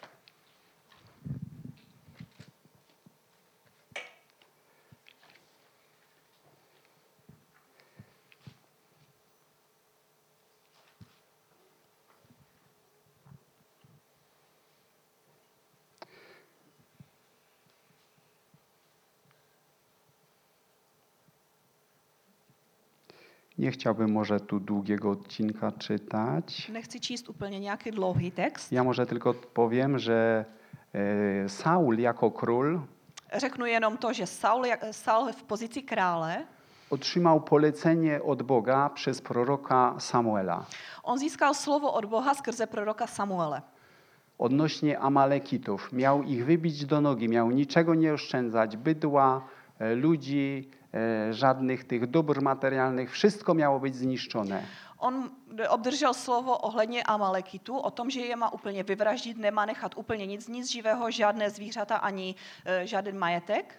S3: Nie chciałbym może tu długiego odcinka czytać.
S2: Nechci číst úplně nějaký dlouhý text.
S3: Ja może tylko powiem, że e, Saul jako król
S2: Řeknu jenom to, že Saul, jak- Saul v pozici krále,
S3: otrzymał polecenie od Boga przez proroka Samuela
S2: on získal slovo od Boha skrze proroka Samuele.
S3: odnośnie Amalekitów. Miał ich wybić do nogi, miał niczego nie oszczędzać, bydła, e, ludzi, e, żadnych tych dóbr materialnych, wszystko miało być zniszczone.
S2: On obdržel slovo ohledně Amalekitu, o tom, že je má úplně vyvraždit, nemá nechat úplně nic, nic živého, žádné zvířata ani e, žádný majetek.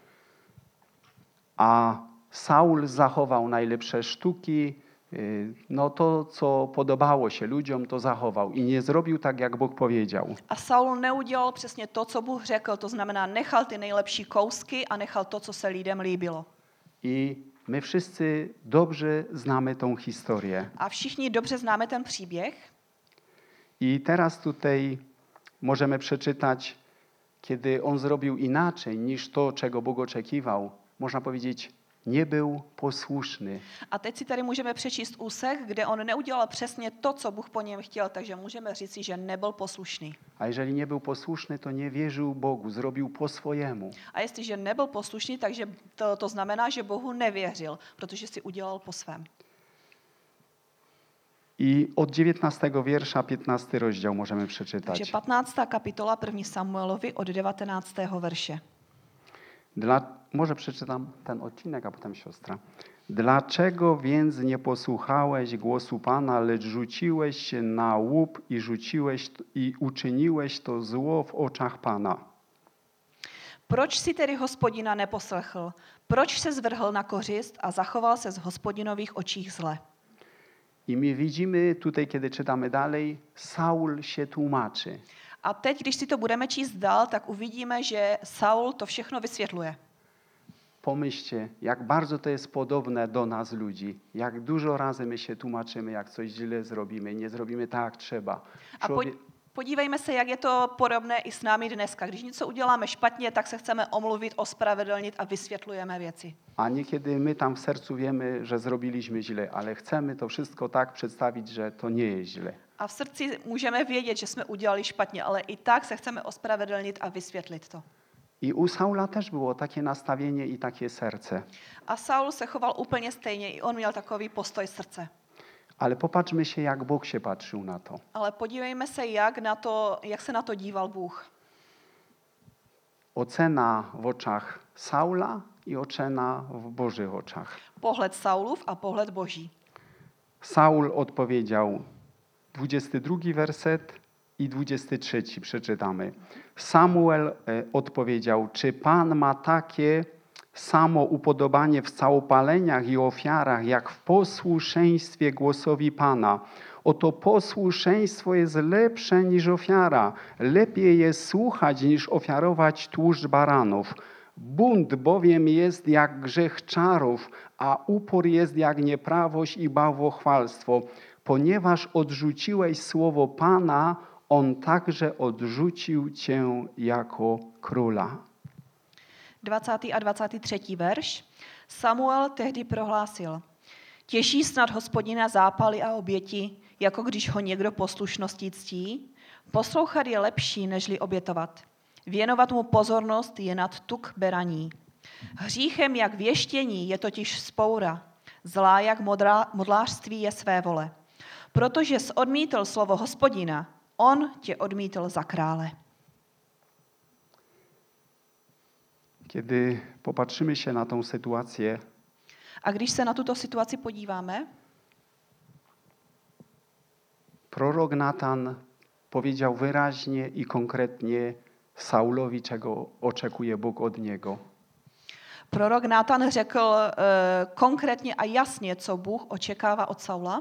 S3: A Saul zachował najlepsze sztuki, y, no to, co podobało się ludziom, to zachował i nie zrobił tak, jak Bóg powiedział.
S2: A Saul neudělal přesně to, co Bůh řekl, to znamená nechal ty nejlepší kousky a nechal to, co se lidem líbilo.
S3: I my wszyscy dobrze znamy tą historię.
S2: A všichni dobře známe ten příběh.
S3: I teraz tutaj możemy przeczytać, kiedy on zrobił inaczej niż to, czego Bóg oczekiwał. Można powiedzieć, nie był posłuszny.
S2: A teď si tady můžeme přečíst úsek, kde on neudělal přesně to, co Bůh po něm chtěl, takže můžeme říci, že nebyl poslušný.
S3: A jeżeli nie był posłuszny, to nie wierzył Bogu, zrobił po swojemu.
S2: A jestliže nebyl poslušný, takže to, to znamená, že Bohu nevěřil, protože si udělal po svém.
S3: I od dziewiętnastego wiersza, piętnasty rozdział możemy
S2: Takže
S3: przeczytać.
S2: patnáctá kapitola první Samuelovi od devatenáctého verše.
S3: Dla, może przeczytam ten odcinek, a potem siostra. Dlaczego więc nie posłuchałeś głosu Pana, lecz rzuciłeś się na łup i rzuciłeś t- i uczyniłeś to zło w oczach Pana?
S2: Proč si tedy Hospodina neposlechl? Proč se zvrhl na kořist a zachoval se z Hospodinových očích zle?
S3: I my widzimy tutaj, kiedy czytamy dalej, Saul się tłumaczy.
S2: A teď, když si to budeme číst dál, tak uvidíme, že Saul to všechno vysvětluje.
S3: Pomyślcie, jak bardzo to jest podobne do nas ludzi. Jak dużo razy my się tłumaczymy, jak coś źle zrobimy, nie zrobimy tak, jak trzeba.
S2: A po,
S3: Człowiek,
S2: podívejme se, jak je to podobné i s námi dneska. Když něco uděláme špatně, tak se chceme omluvit, ospravedlnit a vysvětlujeme věci.
S3: a niekiedy my tam w sercu wiemy, że zrobiliśmy źle, ale chcemy to wszystko tak przedstawić, że to nie jest źle.
S2: A v srdci můžeme vědět, že jsme udělali špatně, ale i tak se chceme ospravedlnit a vysvětlit to.
S3: I u Saula też było takie nastawienie i takie serce.
S2: A Saul se choval úplně stejně, i on měl takový postoj srdce.
S3: Ale popatrzmy się, jak Bóg się patrzył na to.
S2: Ale podívejme se, jak, na to, jak se na to díval Bůh.
S3: Ocena w oczach Saula i ocena w Bożych oczach.
S2: Pohled Saulův a pohled Boží.
S3: Saul odpowiedział, dwudziesty drugi werset i dwudziesty trzeci przeczytamy. Samuel e, odpowiedział, czy Pan ma takie samo upodobanie w całopaleniach i ofiarach, jak w posłuszeństwie głosowi Pana? Oto posłuszeństwo jest lepsze niż ofiara. Lepiej jest słuchać, niż ofiarować tłuszcz baranów. Bunt bowiem jest jak grzech czarów, a upór jest jak nieprawość i bałwochwalstwo. Ponieważ odrzuciłeś słowo Pana, On także odrzucił cię jako króla.
S2: dvacátý a dvacátý třetí verš. Samuel tehdy prohlásil, těší snad Hospodina zápaly a oběti, jako když ho někdo poslušností ctí? Poslouchat je lepší, nežli obětovat. Věnovat mu pozornost je nad tuk beraní. Hříchem jak věštění je totiž vzpoura, zlá jak modrá, modlářství je své vole. Protože jsi odmítl slovo Hospodina, on tě odmítl za krále.
S3: Kiedy popatrzymy się na tą sytuację,
S2: A když se na tuto situaci podíváme,
S3: prorok Natan powiedział wyraźnie i konkretnie Saulowi, czego oczekuje Bóg od niego.
S2: prorok Nátan řekl uh, konkrétně a jasně, co Bůh očekává od Saula.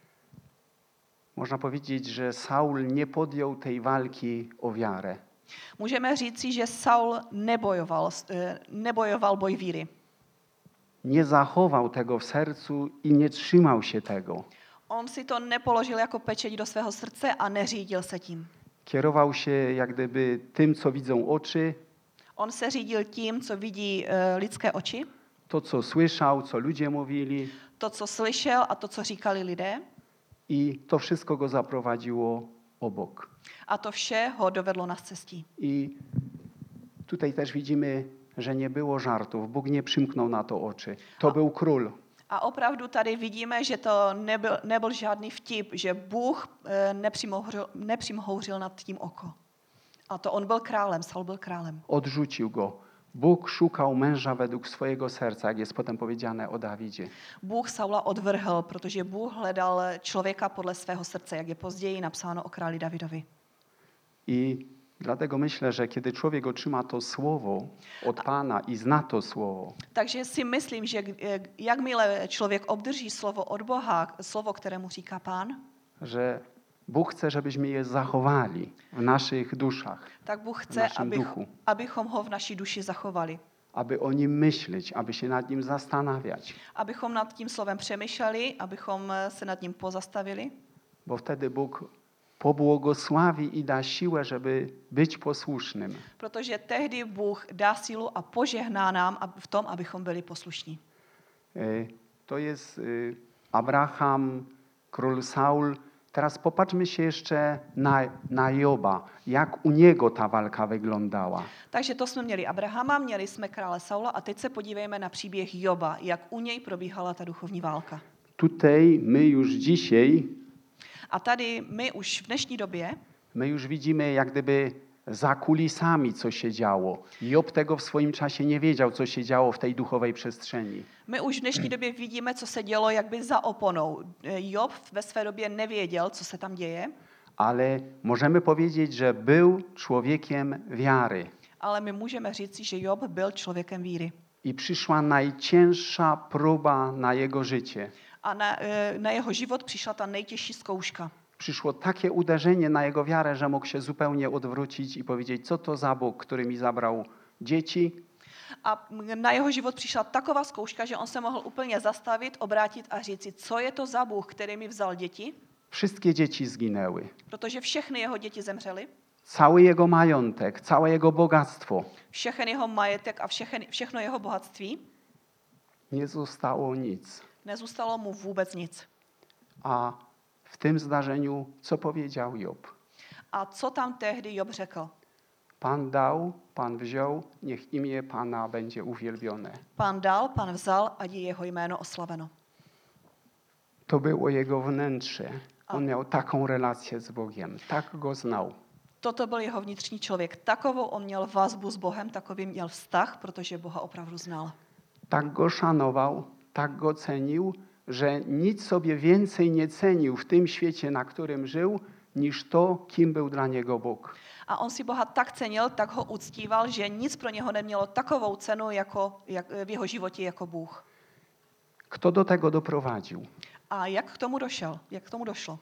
S3: Można powiedzieć, że Saul nie podjął tej walki o wiarę.
S2: Můžeme říci, že Saul nebojoval, uh, nebojoval boj víry.
S3: Nie zachował tego w sercu i nie trzymał się tego.
S2: On si to nepoložil jako pečeť do svého srdce a neřídil se tím.
S3: Kierował się jak gdyby tym, co widzą oczy,
S2: On se řídil tím, co vidí uh, lidské oči,
S3: to, co słyszał, co ludzie mówili,
S2: to, co slyšel a to, co říkali lidé.
S3: i to wszystko go zaprowadziło obok.
S2: A to vše ho dovedlo na cestí.
S3: I tutaj też widzimy, że nie było żartów. Bóg nie przymknął na to oczy. To
S2: A-
S3: był król.
S2: A opravdu tady vidíme, že to nebyl, nebyl žádný vtip, že Bůh uh, nepřimhouřil, nepřimhouřil nad tím oko. A to on byl králem, Saul byl králem.
S3: Odrzucił go. Bóg szukał męża według swojego serca, jak jest potem powiedziane o Dawidzie.
S2: Bůh Saula odvrhl, protože Bůh hledal člověka podle svého srdce, jak je později napsáno o králi Davidovi.
S3: I dlatego myślę, że kiedy człowiek otrzyma to słowo od Pana i zna to słowo,
S2: Takže si myslím, že eh, jakmile člověk obdrží slovo od Boha, slovo, kterému říká Pán,
S3: że Bóg chce, żebyśmy je zachowali w naszych duszach,
S2: tak Bůh
S3: w
S2: chce,
S3: naszym
S2: abych,
S3: duchu,
S2: abychom ho v naší duši zachovali.
S3: aby o nim myśleć, aby się nad nim zastanawiać,
S2: Abychom nad tím slovem přemýšleli, abychom eh, se nad ním pozastavili,
S3: bo wtedy Bóg pobłogosławi i da siłę, żeby być posłusznym.
S2: protože tehdy Bůh dá sílu a požehná nám ab- v tom, abychom byli poslušní.
S3: E, To jest y, Abraham, król Saul. Teraz popatrzmy się jeszcze na, na Joba, jak u niego ta walka wyglądała.
S2: Takže to jsme měli Abrahama, měli jsme krále Saula a teď se podívejme na příběh Joba, jak u něj probíhala ta duchovní válka.
S3: Tutaj my już dzisiaj,
S2: A tady my už v dnešní době
S3: my już widzimy jak gdyby za kulisami, co się działo. Job tego w swoim czasie nie wiedział, co się działo w tej duchowej przestrzeni.
S2: My už v dnešní době vidíme, co se dělo jakby za oponou. Job ve své době nevěděl, co se tam děje,
S3: Ale możemy powiedzieć, że był człowiekiem wiary.
S2: ale my můžeme říci, že Job byl člověkem víry.
S3: I przyszła najcięższa próba na jego życie.
S2: A na, eh, na jeho život přišla ta nejtěžší zkouška.
S3: Przyszło takie uderzenie na jego wiarę, że mógł się zupełnie odwrócić i powiedzieć, co to za Bóg, który mi zabrał dzieci,
S2: A na jeho život přišla taková zkouška, že on se mohl úplně zastavit, obrátit a říci, co je to za Bůh, který mi vzal děti,
S3: wszystkie dzieci zginęły.
S2: protože všechny jeho děti zemřely,
S3: Cały jego majątek, całe jego bogactwo.
S2: všechny jeho majetek a všechny, všechno jeho bohatství,
S3: Nie zostało nic.
S2: nezůstalo mu vůbec nic.
S3: A w tym zdarzeniu co powiedział Job?
S2: A co tam tehdy Job řekl?
S3: Pan dał, Pan wziął, niech imię Pana będzie uwielbione.
S2: Pán dal, pán vzal, ať je jeho jméno oslaveno.
S3: To było jego wnętrze.
S2: A.
S3: On miał taką relację z Bogiem, tak go znał.
S2: Toto byl jeho vnitřní člověk. Takovou on měl vazbu s Bohem, takový měl vztah, protože Boha opravdu znal.
S3: Tak go szanował, tak go cenił, że nic sobie więcej nie cenił w tym świecie, na którym żył, niż to, kim był dla niego Bóg.
S2: A on si Boha tak cenil, tak ho uctíval, že nic pro něho nemělo takovou cenu jako, jak, v jeho životě jako Bůh.
S3: Kto do tego doprowadził?
S2: A jak k tomu došel? Jak k tomu došlo?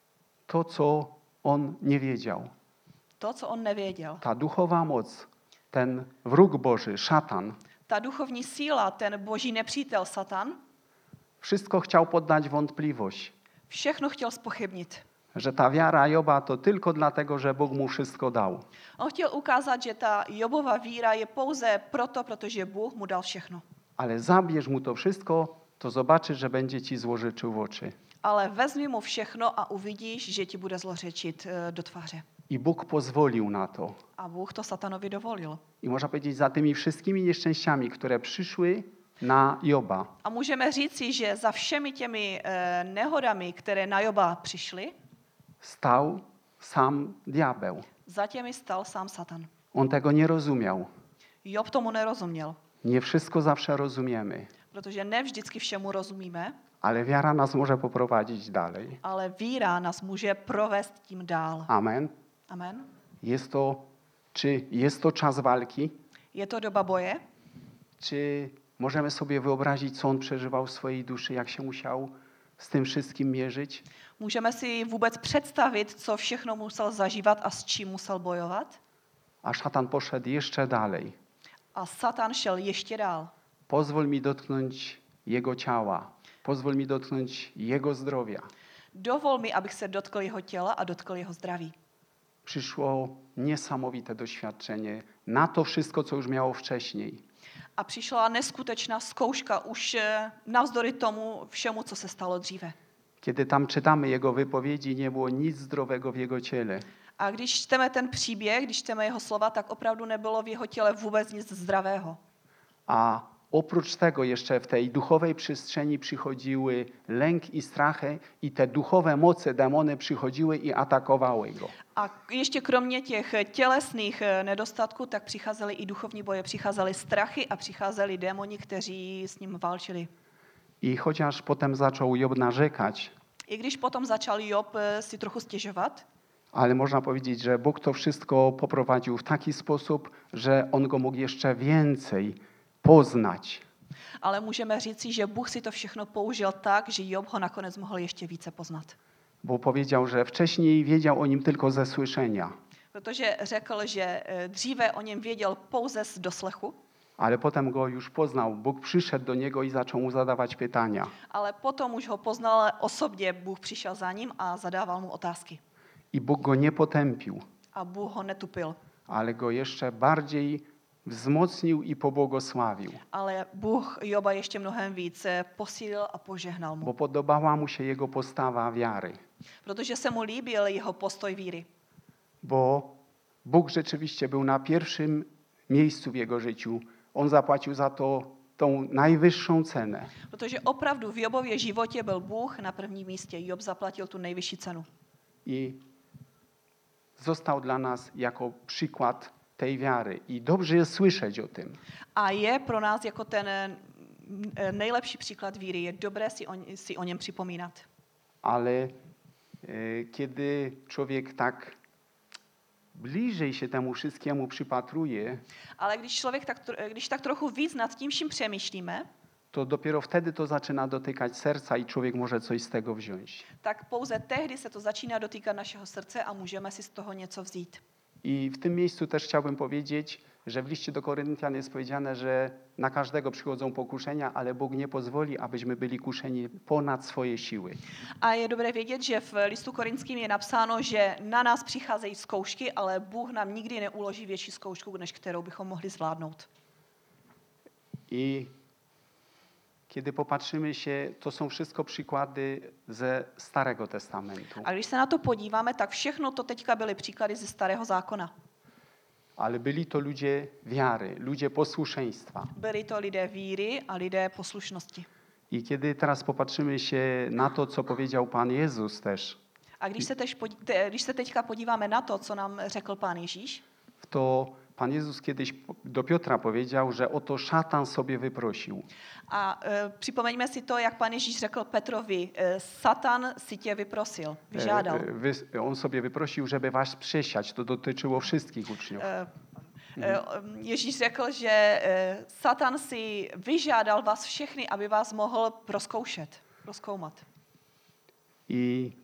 S3: To, co on nie wiedział.
S2: To, co on nevěděl.
S3: Ta duchowa moc, ten wróg Boży, szatan,
S2: Ta duchovní síla, ten boží nepřítel Satan,
S3: wszystko chciał poddać wątpliwość,
S2: všechno chtěl zpochybnit.
S3: że ta wiara Joba to tylko dlatego, że Bóg mu wszystko dał.
S2: On chtěl ukázat, že ta Jobova víra je pouze proto, protože Bůh mu dal všechno.
S3: Ale zabierz mu to wszystko, to zobaczysz, że będzie ci złożyczył w oczy.
S2: Ale vezmi mu všechno a uvidíš, že ti bude zlořečit eh, do tváře.
S3: I Bóg pozwolił na to.
S2: A Bůh to Satanovi dovolil.
S3: I można powiedzieć, za tymi wszystkimi nieszczęściami, które przyszły na Joba,
S2: A můžeme říci, že za všemi těmi eh, nehodami, které na Joba přišly,
S3: stał sam diabeł.
S2: za těmi stal sám Satan.
S3: On tego nie rozumiał.
S2: Job tomu nerozuměl,
S3: Nie wszystko zawsze rozumiemy,
S2: protože ne vždycky všemu rozumíme,
S3: ale wiara nas może poprowadzić dalej.
S2: ale víra nás může provést tím dál.
S3: Amen.
S2: Amen.
S3: Jest to, czy jest to czas walki?
S2: Je to doba boje?
S3: Czy możemy sobie wyobrazić, co on przeżywał w swojej duszy, jak się musiał z tym wszystkim mierzyć?
S2: Můžeme si vůbec představit, co všechno musel zažívat a s čím musel bojovat?
S3: A szatan poszedł jeszcze dalej.
S2: A Satan šel ještě dál.
S3: Pozwól mi dotknąć jego ciała. Pozwól mi dotknąć jego zdrowia.
S2: Dovol mi, abych se dotkl jeho těla a dotkl jeho zdraví.
S3: Przyszło niesamowite doświadczenie na to wszystko, co już miało wcześniej.
S2: A přišla neskutečná zkouška už eh, navzdory tomu všemu, co se stalo dříve.
S3: Kiedy tam czytamy jego wypowiedzi, nie było nic zdrowego w jego ciele.
S2: A když čteme ten příběh, když čteme jeho slova, tak opravdu nebylo v jeho těle vůbec nic zdravého.
S3: A oprócz tego jeszcze w tej duchowej przestrzeni przychodziły lęk i strachy i te duchowe moce, demony przychodziły i atakowały go.
S2: A ještě kromě těch tělesných eh, nedostatků, tak přicházely i duchovní boje, přicházely strachy a přicházeli démoni, kteří s ním válčili.
S3: I chociaż potem zaczął Job narzekać,
S2: I když potom začal Job eh, si trochu stěžovat,
S3: ale można powiedzieć, że Bóg to wszystko poprowadził w taki sposób, że on go mógł jeszcze więcej poznać.
S2: ale můžeme říci, že Bůh si to všechno použil tak, že Job ho nakonec mohl ještě více poznat.
S3: Bo powiedział, że wcześniej wiedział o nim tylko ze słyszenia,
S2: Protože řekl, že eh, dříve o něm věděl pouze z doslechu,
S3: ale potem go już poznał. Bóg przyszedł do niego i zaczął mu zadawać pytania.
S2: ale potom už ho poznal osobně, Bůh přišel za ním a zadával mu otázky.
S3: I Bóg go nie potępił,
S2: A Bůh ho netupil,
S3: ale go jeszcze bardziej wzmocnił i pobłogosławił,
S2: ale Bůh Joba ještě mnohem víc eh, posílil a požehnal mu,
S3: bo podobała mu się jego postawa wiary.
S2: protože se mu líbil jeho postoj víry.
S3: Bo Bóg rzeczywiście był na pierwszym miejscu w jego życiu. On zapłacił za to tą najwyższą cenę.
S2: Protože opravdu v Jobově životě byl Bůh na prvním místě. Job zaplatil tu nejvyšší cenu.
S3: I został dla nas jako przykład tej wiary. I dobrze jest słyszeć o tym.
S2: A je pro nás jako ten eh, nejlepší příklad víry. Je dobré si o, si o něm připomínat.
S3: Ale e, kiedy człowiek tak bliżej się temu wszystkiemu przypatruje,
S2: Ale když člověk tak, tro- když tak trochu víc nad tím vším přemýšlíme,
S3: to dopiero wtedy to zaczyna dotykać serca i człowiek może coś z tego wziąć.
S2: tak pouze tehdy se to začíná dotýkat našeho srdce a můžeme si z toho něco vzít.
S3: I w tym miejscu też chciałbym powiedzieć, że w liście do Koryntian jest powiedziane, że na każdego przychodzą pokuszenia, ale Bóg nie pozwoli, abyśmy byli kuszeni ponad swoje siły.
S2: A je dobré vědět, že v listu korinským je napsáno, že na nás přicházejí zkoušky, ale Bůh nám nikdy neuloží větší zkoušku, než kterou bychom mohli zvládnout.
S3: I kiedy popatrzymy się, to są wszystko przykłady ze Starego Testamentu.
S2: A když se na to podíváme, tak všechno to teďka byly příklady ze Starého zákona.
S3: Ale byli to ludzie wiary, ludzie posłuszeństwa.
S2: Byli to lidé víry a lidé poslušnosti.
S3: I kiedy teraz popatrzymy się na to, co powiedział Pan Jezus też,
S2: A když se, tež podí, te, když se teďka podíváme na to, co nám řekl Pán Ježíš,
S3: to Pan Jezus kiedyś do Piotra powiedział, że oto szatan sobie wyprosił.
S2: a e, připomeňme si to, jak Pán Ježíš řekl Petrovi, e, Satan si tě vyprosil, vyžádal.
S3: E, e, wy- On sobie wyprosił, żeby was przesiać. To dotyczyło wszystkich uczniów.
S2: E, e, Ježíš řekl, že e, Satan si vyžádal vás všechny, aby vás mohl proskoušet, rozkoumat.
S3: I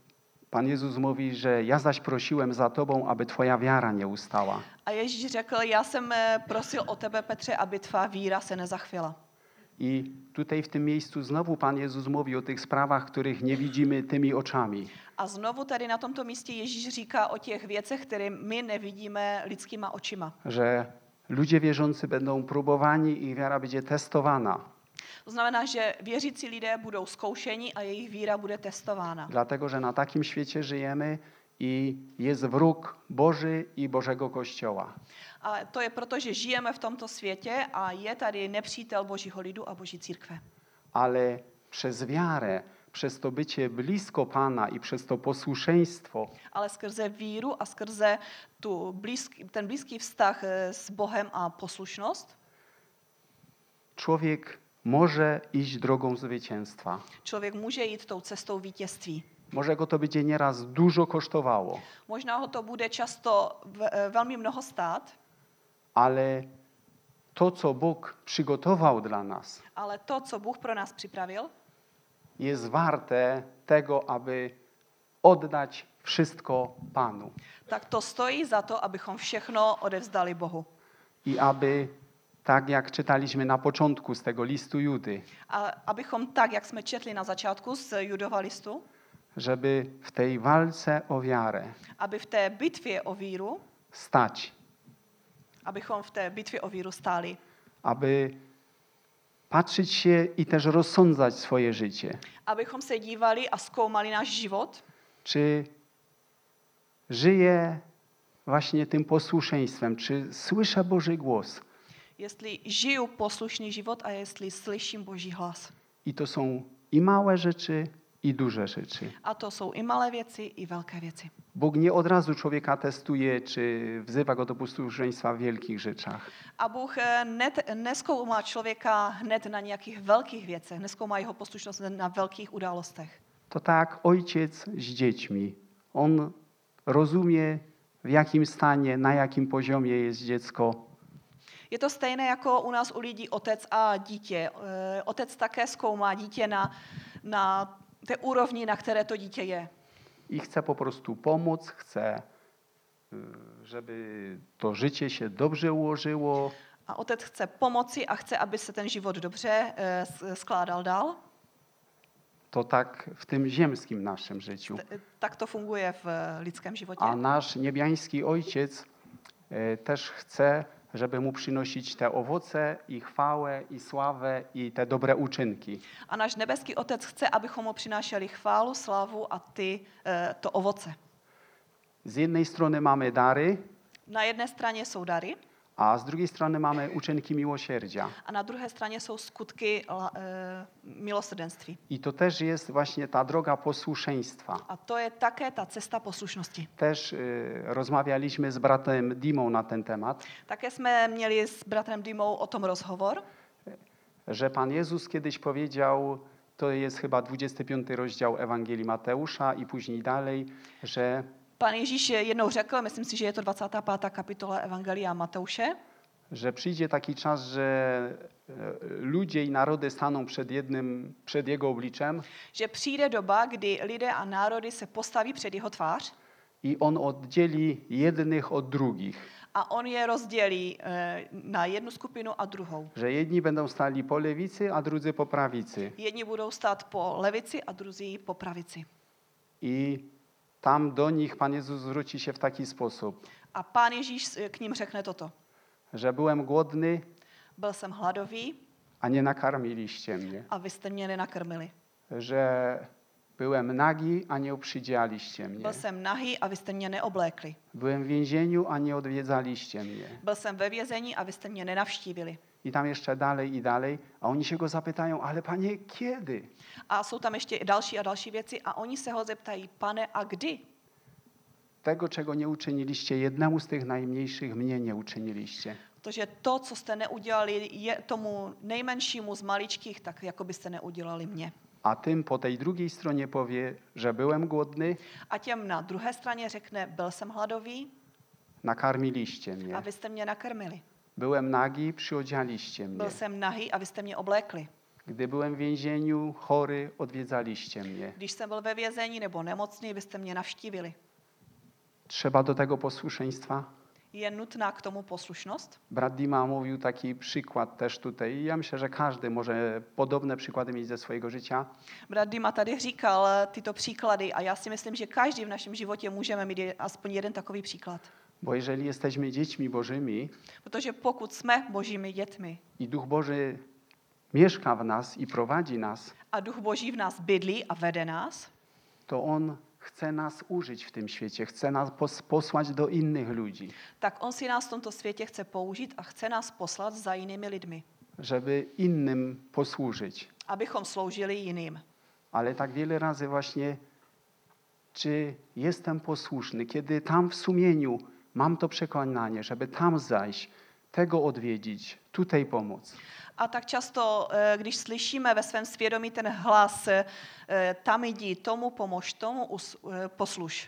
S3: Pan Jezus mówi, że ja zaś prosiłem za tobą, aby twoja wiara nie ustała.
S2: A Ježíš řekl, já jsem eh, prosil o tebe, Petře, aby tvá víra se nezachvěla.
S3: I tutaj w tym miejscu znowu Pan Jezus mówi o tych sprawach, których nie widzimy tymi oczami.
S2: A znovu tady na tomto místě Ježíš říká o těch věcech, které my nevidíme lidskýma očima.
S3: Że ludzie wierzący będą próbowani, ich wiara będzie testowana.
S2: To znamená, že věřící lidé budou zkoušeni a jejich víra bude testována.
S3: Dlatego, że na takim świecie żyjemy i jest wróg Boży i Bożego Kościoła.
S2: A to je proto, že žijeme v tomto světě a je tady nepřítel Božího lidu a Boží církve.
S3: Ale przez wiarę, przez to bycie blisko Pana i przez to posłuszeństwo
S2: Ale skrze víru a skrze tu blízký, ten blízký vztah eh, s Bohem a poslušnost,
S3: człowiek może iść drogą zwycięstwa.
S2: člověk může jít tou cestou vítězství.
S3: Może go to będzie nieraz dużo kosztowało,
S2: Možná ho to bude často v, eh, velmi mnoho stát,
S3: ale to, co Bóg przygotował dla nas,
S2: ale to, co Bůh pro nás připravil,
S3: jest warte tego, aby oddać wszystko Panu
S2: tak to stojí za to, abychom všechno odevzdali Bohu.
S3: i aby, tak jak czytaliśmy na początku z tego listu Judy,
S2: A abychom tak, jak jsme četli na začátku z Judova listu,
S3: żeby w tej walce o wiarę
S2: aby v té bitvě o víru,
S3: stać,
S2: abychom v té bitvě o víru stáli,
S3: aby patrzeć się i też rozsądzać swoje życie.
S2: abychom se dívali a zkoumali náš život,
S3: Czy żyję właśnie tym posłuszeństwem? Czy słyszę Boży głos?
S2: jestli žiju poslušný život a jestli slyším Boží hlas.
S3: I to są i małe rzeczy, i duże rzeczy.
S2: A to jsou i malé věci, i velké věci.
S3: Bóg nie od razu człowieka testuje, czy wzywa go do posłuszeństwa w wielkich rzeczach.
S2: A Bůh eh, net, neskoumá člověka hned na nějakých velkých věcech, neskoumá jeho poslušnost na velkých událostech.
S3: To tak ojciec z dziećmi. On rozumie, w jakim stanie, na jakim poziomie jest dziecko.
S2: Je to stejné jako u nás u lidí otec a dítě. Eh, Otec také zkoumá dítě na, na té úrovni, na které to dítě je.
S3: I chce po prostu pomóc, chce, y, żeby to życie się dobrze ułożyło,
S2: A otec chce pomoci a chce, aby se ten život dobře eh, s- skládal dál.
S3: to tak w tym ziemskim naszym życiu.
S2: T- Tak to funguje v eh, lidském životě.
S3: A nasz niebiański Ojciec y, też chce, żeby mu przynosić te owoce i chwałę i sławę i te dobre uczynki.
S2: A náš nebeský otec chce, abychom mu přinášeli chválu, slávu a ty, eh, to ovoce.
S3: Z jednej strony mamy dary,
S2: Na jedné straně jsou dary
S3: a z drugiej strony mamy uczynki miłosierdzia.
S2: a na druhé straně jsou skutky la- eh, milosrdenství.
S3: I to też jest właśnie ta droga posłuszeństwa.
S2: A to je také ta cesta poslušnosti.
S3: Też y, rozmawialiśmy z bratem Dimą na ten temat,
S2: Také jsme měli s bratrem Dimou o tom rozhovor,
S3: że Pan Jezus kiedyś powiedział, to jest chyba dwudziesty piąty rozdział Ewangelii Mateusza i później dalej, że
S2: Pan Ježíš jednou řekl, myslím si, že je to dvacátá pátá kapitola Evangelia Mateuše,
S3: że przyjdzie taki czas, że e, ludzie i narody staną przed jednym, przed Jego obliczem
S2: že přijde doba, kdy lidé a národy se postaví před jeho tvář
S3: i On oddzieli jednych od drugich.
S2: a on je rozdělí eh, na jednu skupinu a druhou.
S3: Że jedni będą stali po lewicy, a drudzy po prawicy.
S2: Jedni budou stát po levici a druzí po pravici.
S3: I tam do nich Pan Jezus zwróci się w taki sposób,
S2: A Pán Ježíš k ním řekne toto.
S3: że byłem głodny,
S2: Byl jsem hladový
S3: a nie nakarmiliście mnie.
S2: a vy jste mě nenakrmili.
S3: Że byłem nagi, a nie uprzydzialiście mnie.
S2: Byl jsem nahý a vy jste mě neoblékli.
S3: Byłem w więzieniu, a nie odwiedzaliście mnie.
S2: Byl jsem ve vězení a vy jste mě nenavštívili.
S3: I tam jeszcze dalej i dalej, a oni się go zapytają, ale Panie, kiedy?
S2: A jsou tam ještě i další a další věci a oni se ho zeptají, pane, a kdy?
S3: Tego, czego nie uczyniliście jednemu z tych najmniejszych, mnie nie uczyniliście.
S2: Protože to, co jste neudělali je tomu nejmenšímu z maličkých, tak jako byste neudělali mě.
S3: A tym po tej drugiej stronie powie, że byłem głodny,
S2: A těm na druhé straně řekne, byl jsem hladový
S3: nakarmiliście
S2: a
S3: mnie.
S2: vy jste mě nakrmili.
S3: Byłem nagi, przyodzialiście mnie.
S2: Byl jsem nahý a vy jste mě oblékli.
S3: Gdy byłem w więzieniu, chory, odwiedzaliście mnie.
S2: Když jsem byl ve vězení nebo nemocný, vy jste mě navštívili.
S3: Trzeba do tego posłuszeństwa.
S2: Je nutná k tomu poslušnost.
S3: Brat Dima mówił taki przykład też tutaj. I ja myślę, że każdy może podobne przykłady mieć ze swojego życia.
S2: Brat Dima tady říkal tyto příklady a já si myslím, že každý v našem životě můžeme mít je- aspoň jeden takový příklad.
S3: Bo jeżeli jesteśmy dziećmi Bożymi
S2: Protože pokud jsme božími dětmi
S3: i Duch Boży mieszka w nas i prowadzi nas,
S2: a duch boží v nás bydlí a vede nás,
S3: to On chce nas użyć w tym świecie, chce nas pos- posłać do innych ludzi,
S2: tak on si nás v tomto světě chce použít a chce nás poslat za jinými lidmi,
S3: żeby innym posłużyć.
S2: abychom sloužili jiným.
S3: Ale tak wiele razy właśnie, czy jestem posłuszny, kiedy tam w sumieniu mam to przekonanie, żeby tam zajść, tego odwiedzić, tutaj pomóc.
S2: A tak často, eh, když slyšíme ve svém svědomí ten hlas, eh, tam jdi, tomu pomož, tomu us- eh, posluš,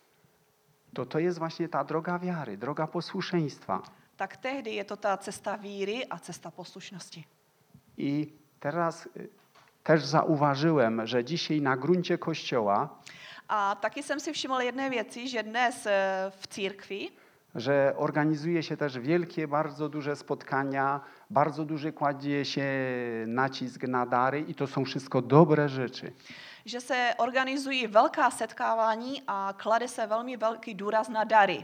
S3: To to jest właśnie ta droga wiary, droga posłuszeństwa.
S2: tak tehdy je to ta cesta víry a cesta poslušnosti.
S3: I teraz y, też zauważyłem, że dzisiaj na gruncie Kościoła,
S2: A taky jsem si všiml jedné věci, že dnes eh, v církvi
S3: że organizuje się też wielkie, bardzo duże spotkania, bardzo duży kładzie się nacisk na dary i to są wszystko dobre rzeczy.
S2: že se organizují velká setkávání a klade se velmi velký důraz na dary.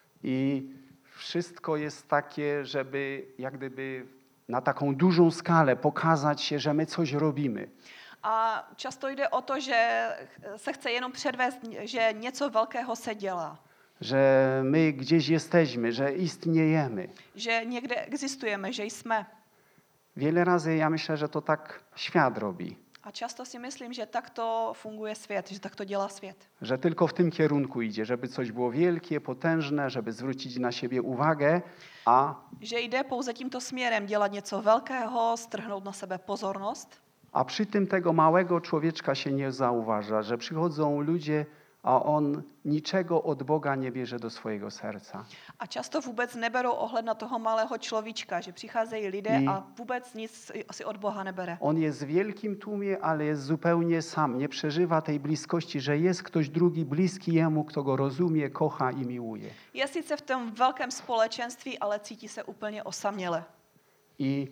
S3: I wszystko jest takie, żeby jak gdyby na taką dużą skalę pokazać się, że my coś robimy.
S2: A často jde o to, že se chce jenom předvést, že něco velkého se dělá.
S3: Że my gdzieś jesteśmy, że istniejemy.
S2: Že někde existujeme, že jsme.
S3: Wiele razy ja myślę, że to tak świat robi.
S2: A často si myslím, že takto funguje svět, že takto dělá svět.
S3: Że tylko w tym kierunku idzie, żeby coś było wielkie, potężne, żeby zwrócić na siebie uwagę, a,
S2: Že jde pouze tímto směrem dělat něco velkého, strhnout na sebe pozornost.
S3: a przy tym tego małego człowieczka się nie zauważa, że przychodzą ludzie, a on niczego od Boga nie bierze do swojego serca.
S2: A často vůbec neberou ohled na toho malého človíčka, že přicházejí lidé
S3: I-
S2: a vůbec nic si od Boha nebere.
S3: On jest w wielkim tłumie, ale jest zupełnie sam. Nie przeżywa tej bliskości, że jest ktoś drugi bliski jemu, kto go rozumie, kocha i miłuje.
S2: Je sice v tom velkém společenství, ale cítí se úplně osaměle.
S3: I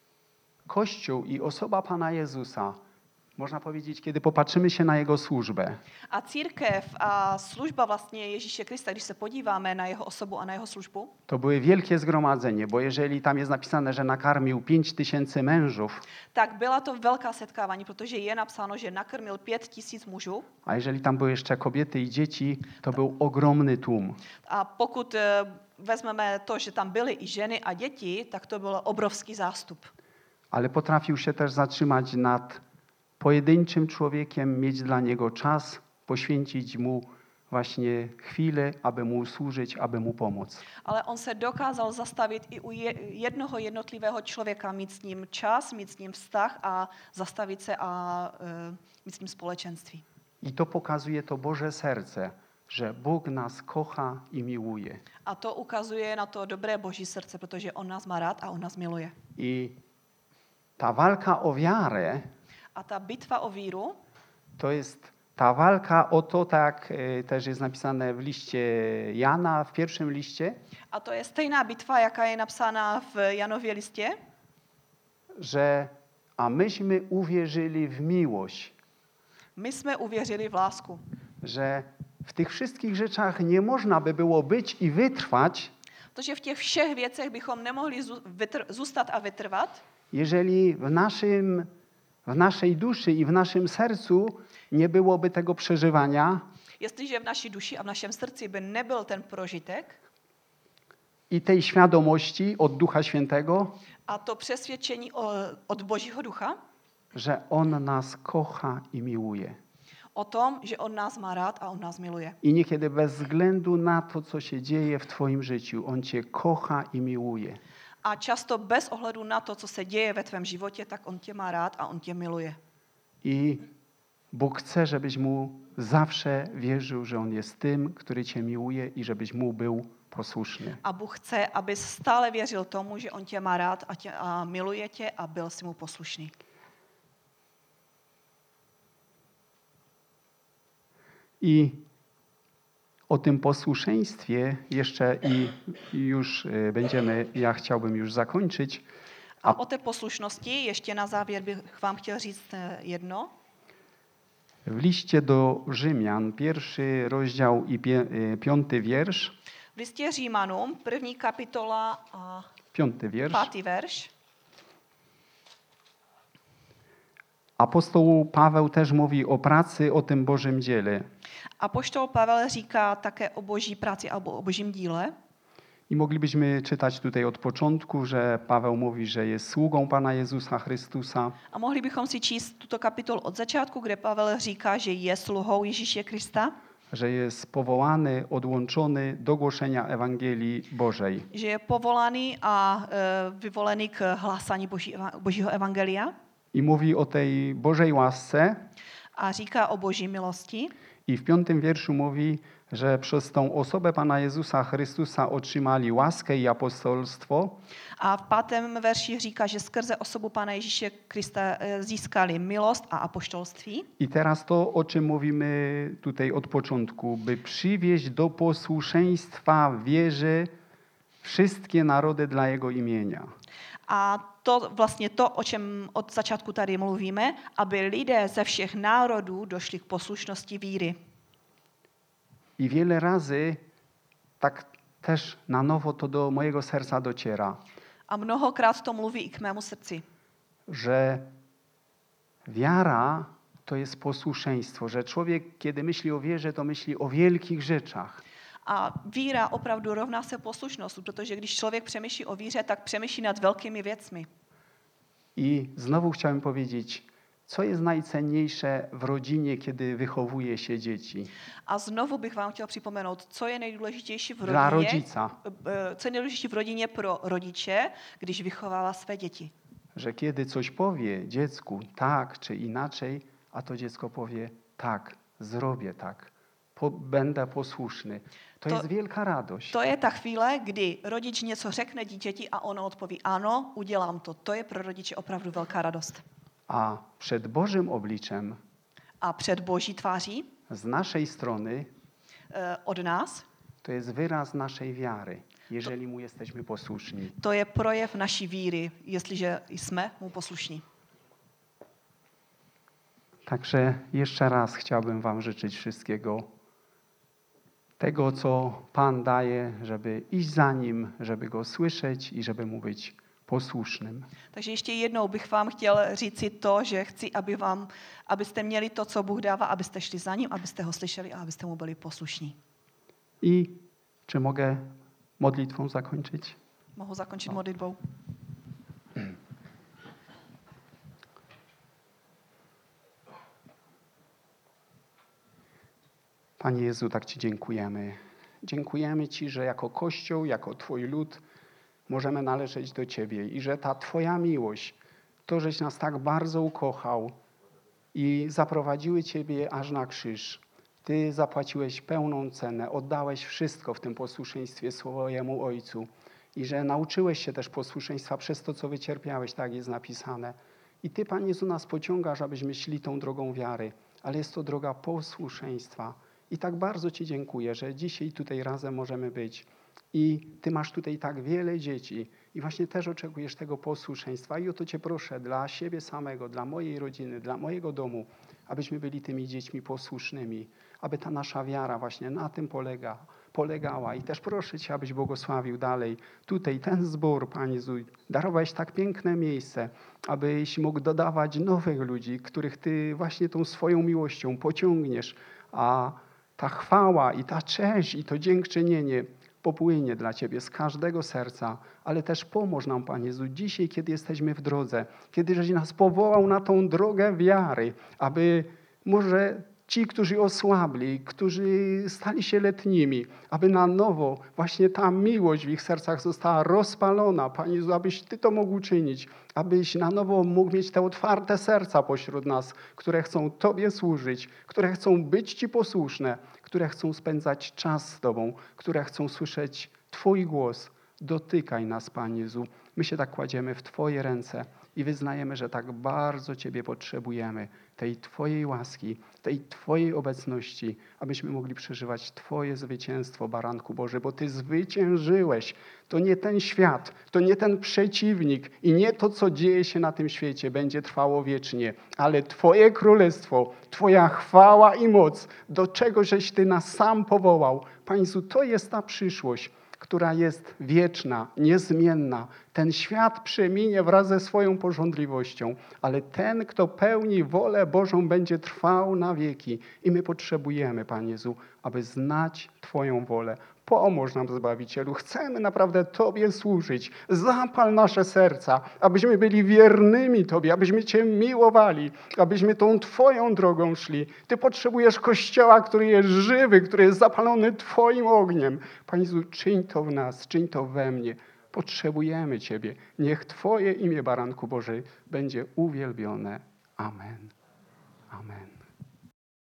S3: Kościół i osoba Pana Jezusa, można powiedzieć, kiedy popatrzymy się na Jego służbę,
S2: A církev a služba vlastně Ježíše Krista, když se podíváme na jeho osobu a na jeho službu,
S3: to były wielkie zgromadzenie, bo jeżeli tam jest napisane, że nakarmił pięć tysięcy mężów,
S2: tak byla to velká setkávání, protože je napsáno, že nakrmil pět tisíc mužů.
S3: a jeżeli tam były jeszcze kobiety i dzieci, to był ogromny tłum.
S2: A pokud eh, vezmeme to, že tam byly i ženy a děti, tak to byl obrovský zástup.
S3: Ale potrafił się też zatrzymać nad pojedynczym człowiekiem, mieć dla niego czas, poświęcić mu właśnie chwilę, aby mu służyć, aby mu pomóc.
S2: Ale on se dokázal zastavit i u je- jednoho jednotlivého člověka, mít s ním čas, mít s ním vztah a zastavit se a uh, mít s ním společenství.
S3: I to pokazuje to Boże serce, że Bóg nas kocha i miłuje.
S2: A to ukazuje na to dobré boží srdce, protože on nás má rád a on nás miluje.
S3: I ta walka o wiarę
S2: A ta bitva o víru,
S3: to jest ta walka o to, tak e, też jest napisane w liście Jana, w pierwszym liście,
S2: a to je stejná bitva, jaká je napsána v Janově listě,
S3: że a myśmy uwierzyli w miłość,
S2: my jsme uvěřili v lásku.
S3: że w tych wszystkich rzeczach nie można by było być i wytrwać,
S2: Protože v těch všech věcech bychom nemohli zů- vytr- zůstat a vytrvat,
S3: jeżeli w naszym, w naszej duszy i w naszym sercu nie byłoby tego przeżywania
S2: jestliže v naší duši a v našem srdci by nebyl ten prožitek
S3: i tej świadomości od Ducha Świętego,
S2: a to přesvědčení o- od Božího ducha
S3: że On nas kocha i miłuje.
S2: o tom, že on nás má rád a on nás miluje.
S3: I niekiedy bez względu na to, co się dzieje w Twoim życiu, On Cię kocha i miłuje.
S2: A často bez ohledu na to, co se děje ve tvém životě, tak on tě má rád a on tě miluje.
S3: I Bóg chce, żebyś Mu zawsze wierzył, że On jest tym, który Cię miłuje i żebyś Mu był posłuszny.
S2: A Bůh chce, abys stále věřil tomu, že on tě má rád a, tě, a miluje tě a byl si mu poslušný.
S3: I o tym posłuszeństwie jeszcze i i już y, będziemy, ja chciałbym już zakończyć.
S2: A o té poslušnosti ještě na závěr bych vám chtěl říct eh, jedno.
S3: W liście do Rzymian, pierwszy rozdział i pie, y, piąty wiersz,
S2: V listě Římanům, první kapitola a
S3: piąty wiersz.
S2: pátý verš.
S3: Apostoł Paweł też mówi o pracy, o tym Bożym dziele.
S2: Apoštol Pavel říká také o boží práci alebo o božím díle.
S3: I moglibyśmy czytać tutaj od początku, że Paweł mówi, że jest sługą Pana Jezusa Chrystusa,
S2: A mohli bychom si číst tuto kapitolu od začátku, kde Pavel říká, že je sluhou Ježíše Krista,
S3: że jest powołany, odłączony do głoszenia Ewangelii Bożej.
S2: že je povolaný a e, vyvolený k hlásání boží, božího evangelia
S3: I mówi o tej Bożej łasce
S2: a říká o boží milosti.
S3: i w piątym wierszu mówi, że przez tą osobę Pana Jezusa Chrystusa otrzymali łaskę i apostolstwo,
S2: A v pátém verši říká, že skrze osobu Pána Ježíše Krista e, získali milost a apoštolství.
S3: i teraz to, o czym mówimy tutaj od początku, by przywieźć do posłuszeństwa wierze wszystkie narody dla Jego imienia.
S2: A to vlastně to, o čem od začátku tady mluvíme, aby lidé ze všech národů došli k poslušnosti víry.
S3: I wiele razy tak też na nowo to do mojego serca dociera,
S2: A mnohokrát to mluví i k mému srdci.
S3: że wiara to jest posłuszeństwo, że człowiek, kiedy myśli o wierze, to myśli o wielkich rzeczach.
S2: A víra opravdu rovná se poslušnost, protože když člověk přemýšlí o víře, tak přemýšlí nad velkými věcmi.
S3: I znowu chciałem powiedzieć, co jest najcenniejsze w rodzinie, kiedy wychowuje się dzieci?
S2: A znovu bych vám chtěl připomenout, co je nejdůležitější v
S3: Dla
S2: rodině,
S3: rodzica,
S2: eh, co je nejdůležitější v rodině pro rodiče, když vychovává své děti.
S3: że kiedy coś powie dziecku tak czy inaczej, a to dziecko powie tak, zrobię tak, po, będę posłuszny. To,
S2: To-
S3: jest wielka radość.
S2: To je ta chvíle, kdy rodič něco řekne dítěti a ono odpoví ano, udělám to. To je pro rodiče opravdu velká radost.
S3: A przed Bożym obliczem
S2: A před boží tváří
S3: z naszej strony
S2: eh, od nás,
S3: to jest wyraz naszej wiary, jeżeli mu jesteśmy posłuszni.
S2: to je projev naší víry, jestliže jsme mu poslušní.
S3: Także jeszcze raz chciałbym wam życzyć wszystkiego tego, co Pan daje, żeby iść za Nim, żeby Go słyszeć i żeby Mu być posłusznym.
S2: Takže ještě jednou bych vám chtěl říci to, že chci, aby vám, abyste měli to, co Bůh dává, abyste šli za ním, abyste ho slyšeli a abyste mu byli poslušní.
S3: I czy mogę modlitwą zakończyć?
S2: Mohu zakončit modlitbou?
S3: Panie Jezu, tak Ci dziękujemy. Dziękujemy Ci, że jako Kościół, jako Twój lud możemy należeć do Ciebie i że ta Twoja miłość, to, żeś nas tak bardzo ukochał i zaprowadziły Ciebie aż na krzyż. Ty zapłaciłeś pełną cenę, oddałeś wszystko w tym posłuszeństwie swojemu Ojcu i że nauczyłeś się też posłuszeństwa przez to, co wycierpiałeś, tak jest napisane. I Ty, Panie Jezu, nas pociągasz, abyśmy szli tą drogą wiary, ale jest to droga posłuszeństwa. I tak bardzo Ci dziękuję, że dzisiaj tutaj razem możemy być. I Ty masz tutaj tak wiele dzieci i właśnie też oczekujesz tego posłuszeństwa. I o to Cię proszę dla siebie samego, dla mojej rodziny, dla mojego domu, abyśmy byli tymi dziećmi posłusznymi, aby ta nasza wiara właśnie na tym polega, polegała. I też proszę Cię, abyś błogosławił dalej tutaj ten zbór, Panie Jezu. Darowałeś tak piękne miejsce, abyś mógł dodawać nowych ludzi, których Ty właśnie tą swoją miłością pociągniesz, a ta chwała i ta cześć i to dziękczynienie popłynie dla Ciebie z każdego serca, ale też pomóż nam, Panie Jezu, dzisiaj, kiedy jesteśmy w drodze, kiedy żeś nas powołał na tą drogę wiary, aby może ci, którzy osłabli, którzy stali się letnimi, aby na nowo właśnie ta miłość w ich sercach została rozpalona. Panie Jezu, abyś Ty to mógł czynić, abyś na nowo mógł mieć te otwarte serca pośród nas, które chcą Tobie służyć, które chcą być Ci posłuszne, które chcą spędzać czas z Tobą, które chcą słyszeć Twój głos. Dotykaj nas, Panie Jezu. My się tak kładziemy w Twoje ręce i wyznajemy, że tak bardzo Ciebie potrzebujemy, tej Twojej łaski, tej Twojej obecności, abyśmy mogli przeżywać Twoje zwycięstwo, Baranku Boży, bo Ty zwyciężyłeś. To nie ten świat, to nie ten przeciwnik i nie to, co dzieje się na tym świecie, będzie trwało wiecznie, ale Twoje królestwo, Twoja chwała i moc, do czego żeś Ty nas sam powołał. Panie Jezu, to jest ta przyszłość, która jest wieczna, niezmienna. Ten świat przeminie wraz ze swoją pożądliwością, ale ten, kto pełni wolę Bożą, będzie trwał na wieki. I my potrzebujemy, Panie Jezu, aby znać Twoją wolę. Pomóż nam, Zbawicielu. Chcemy naprawdę Tobie służyć. Zapal nasze serca, abyśmy byli wiernymi Tobie, abyśmy Cię miłowali, abyśmy tą Twoją drogą szli. Ty potrzebujesz Kościoła, który jest żywy, który jest zapalony Twoim ogniem. Panie Jezu, czyń to w nas, czyń to we mnie. Potrzebujemy Ciebie. Niech Twoje imię, Baranku Boży, będzie uwielbione. Amen. Amen.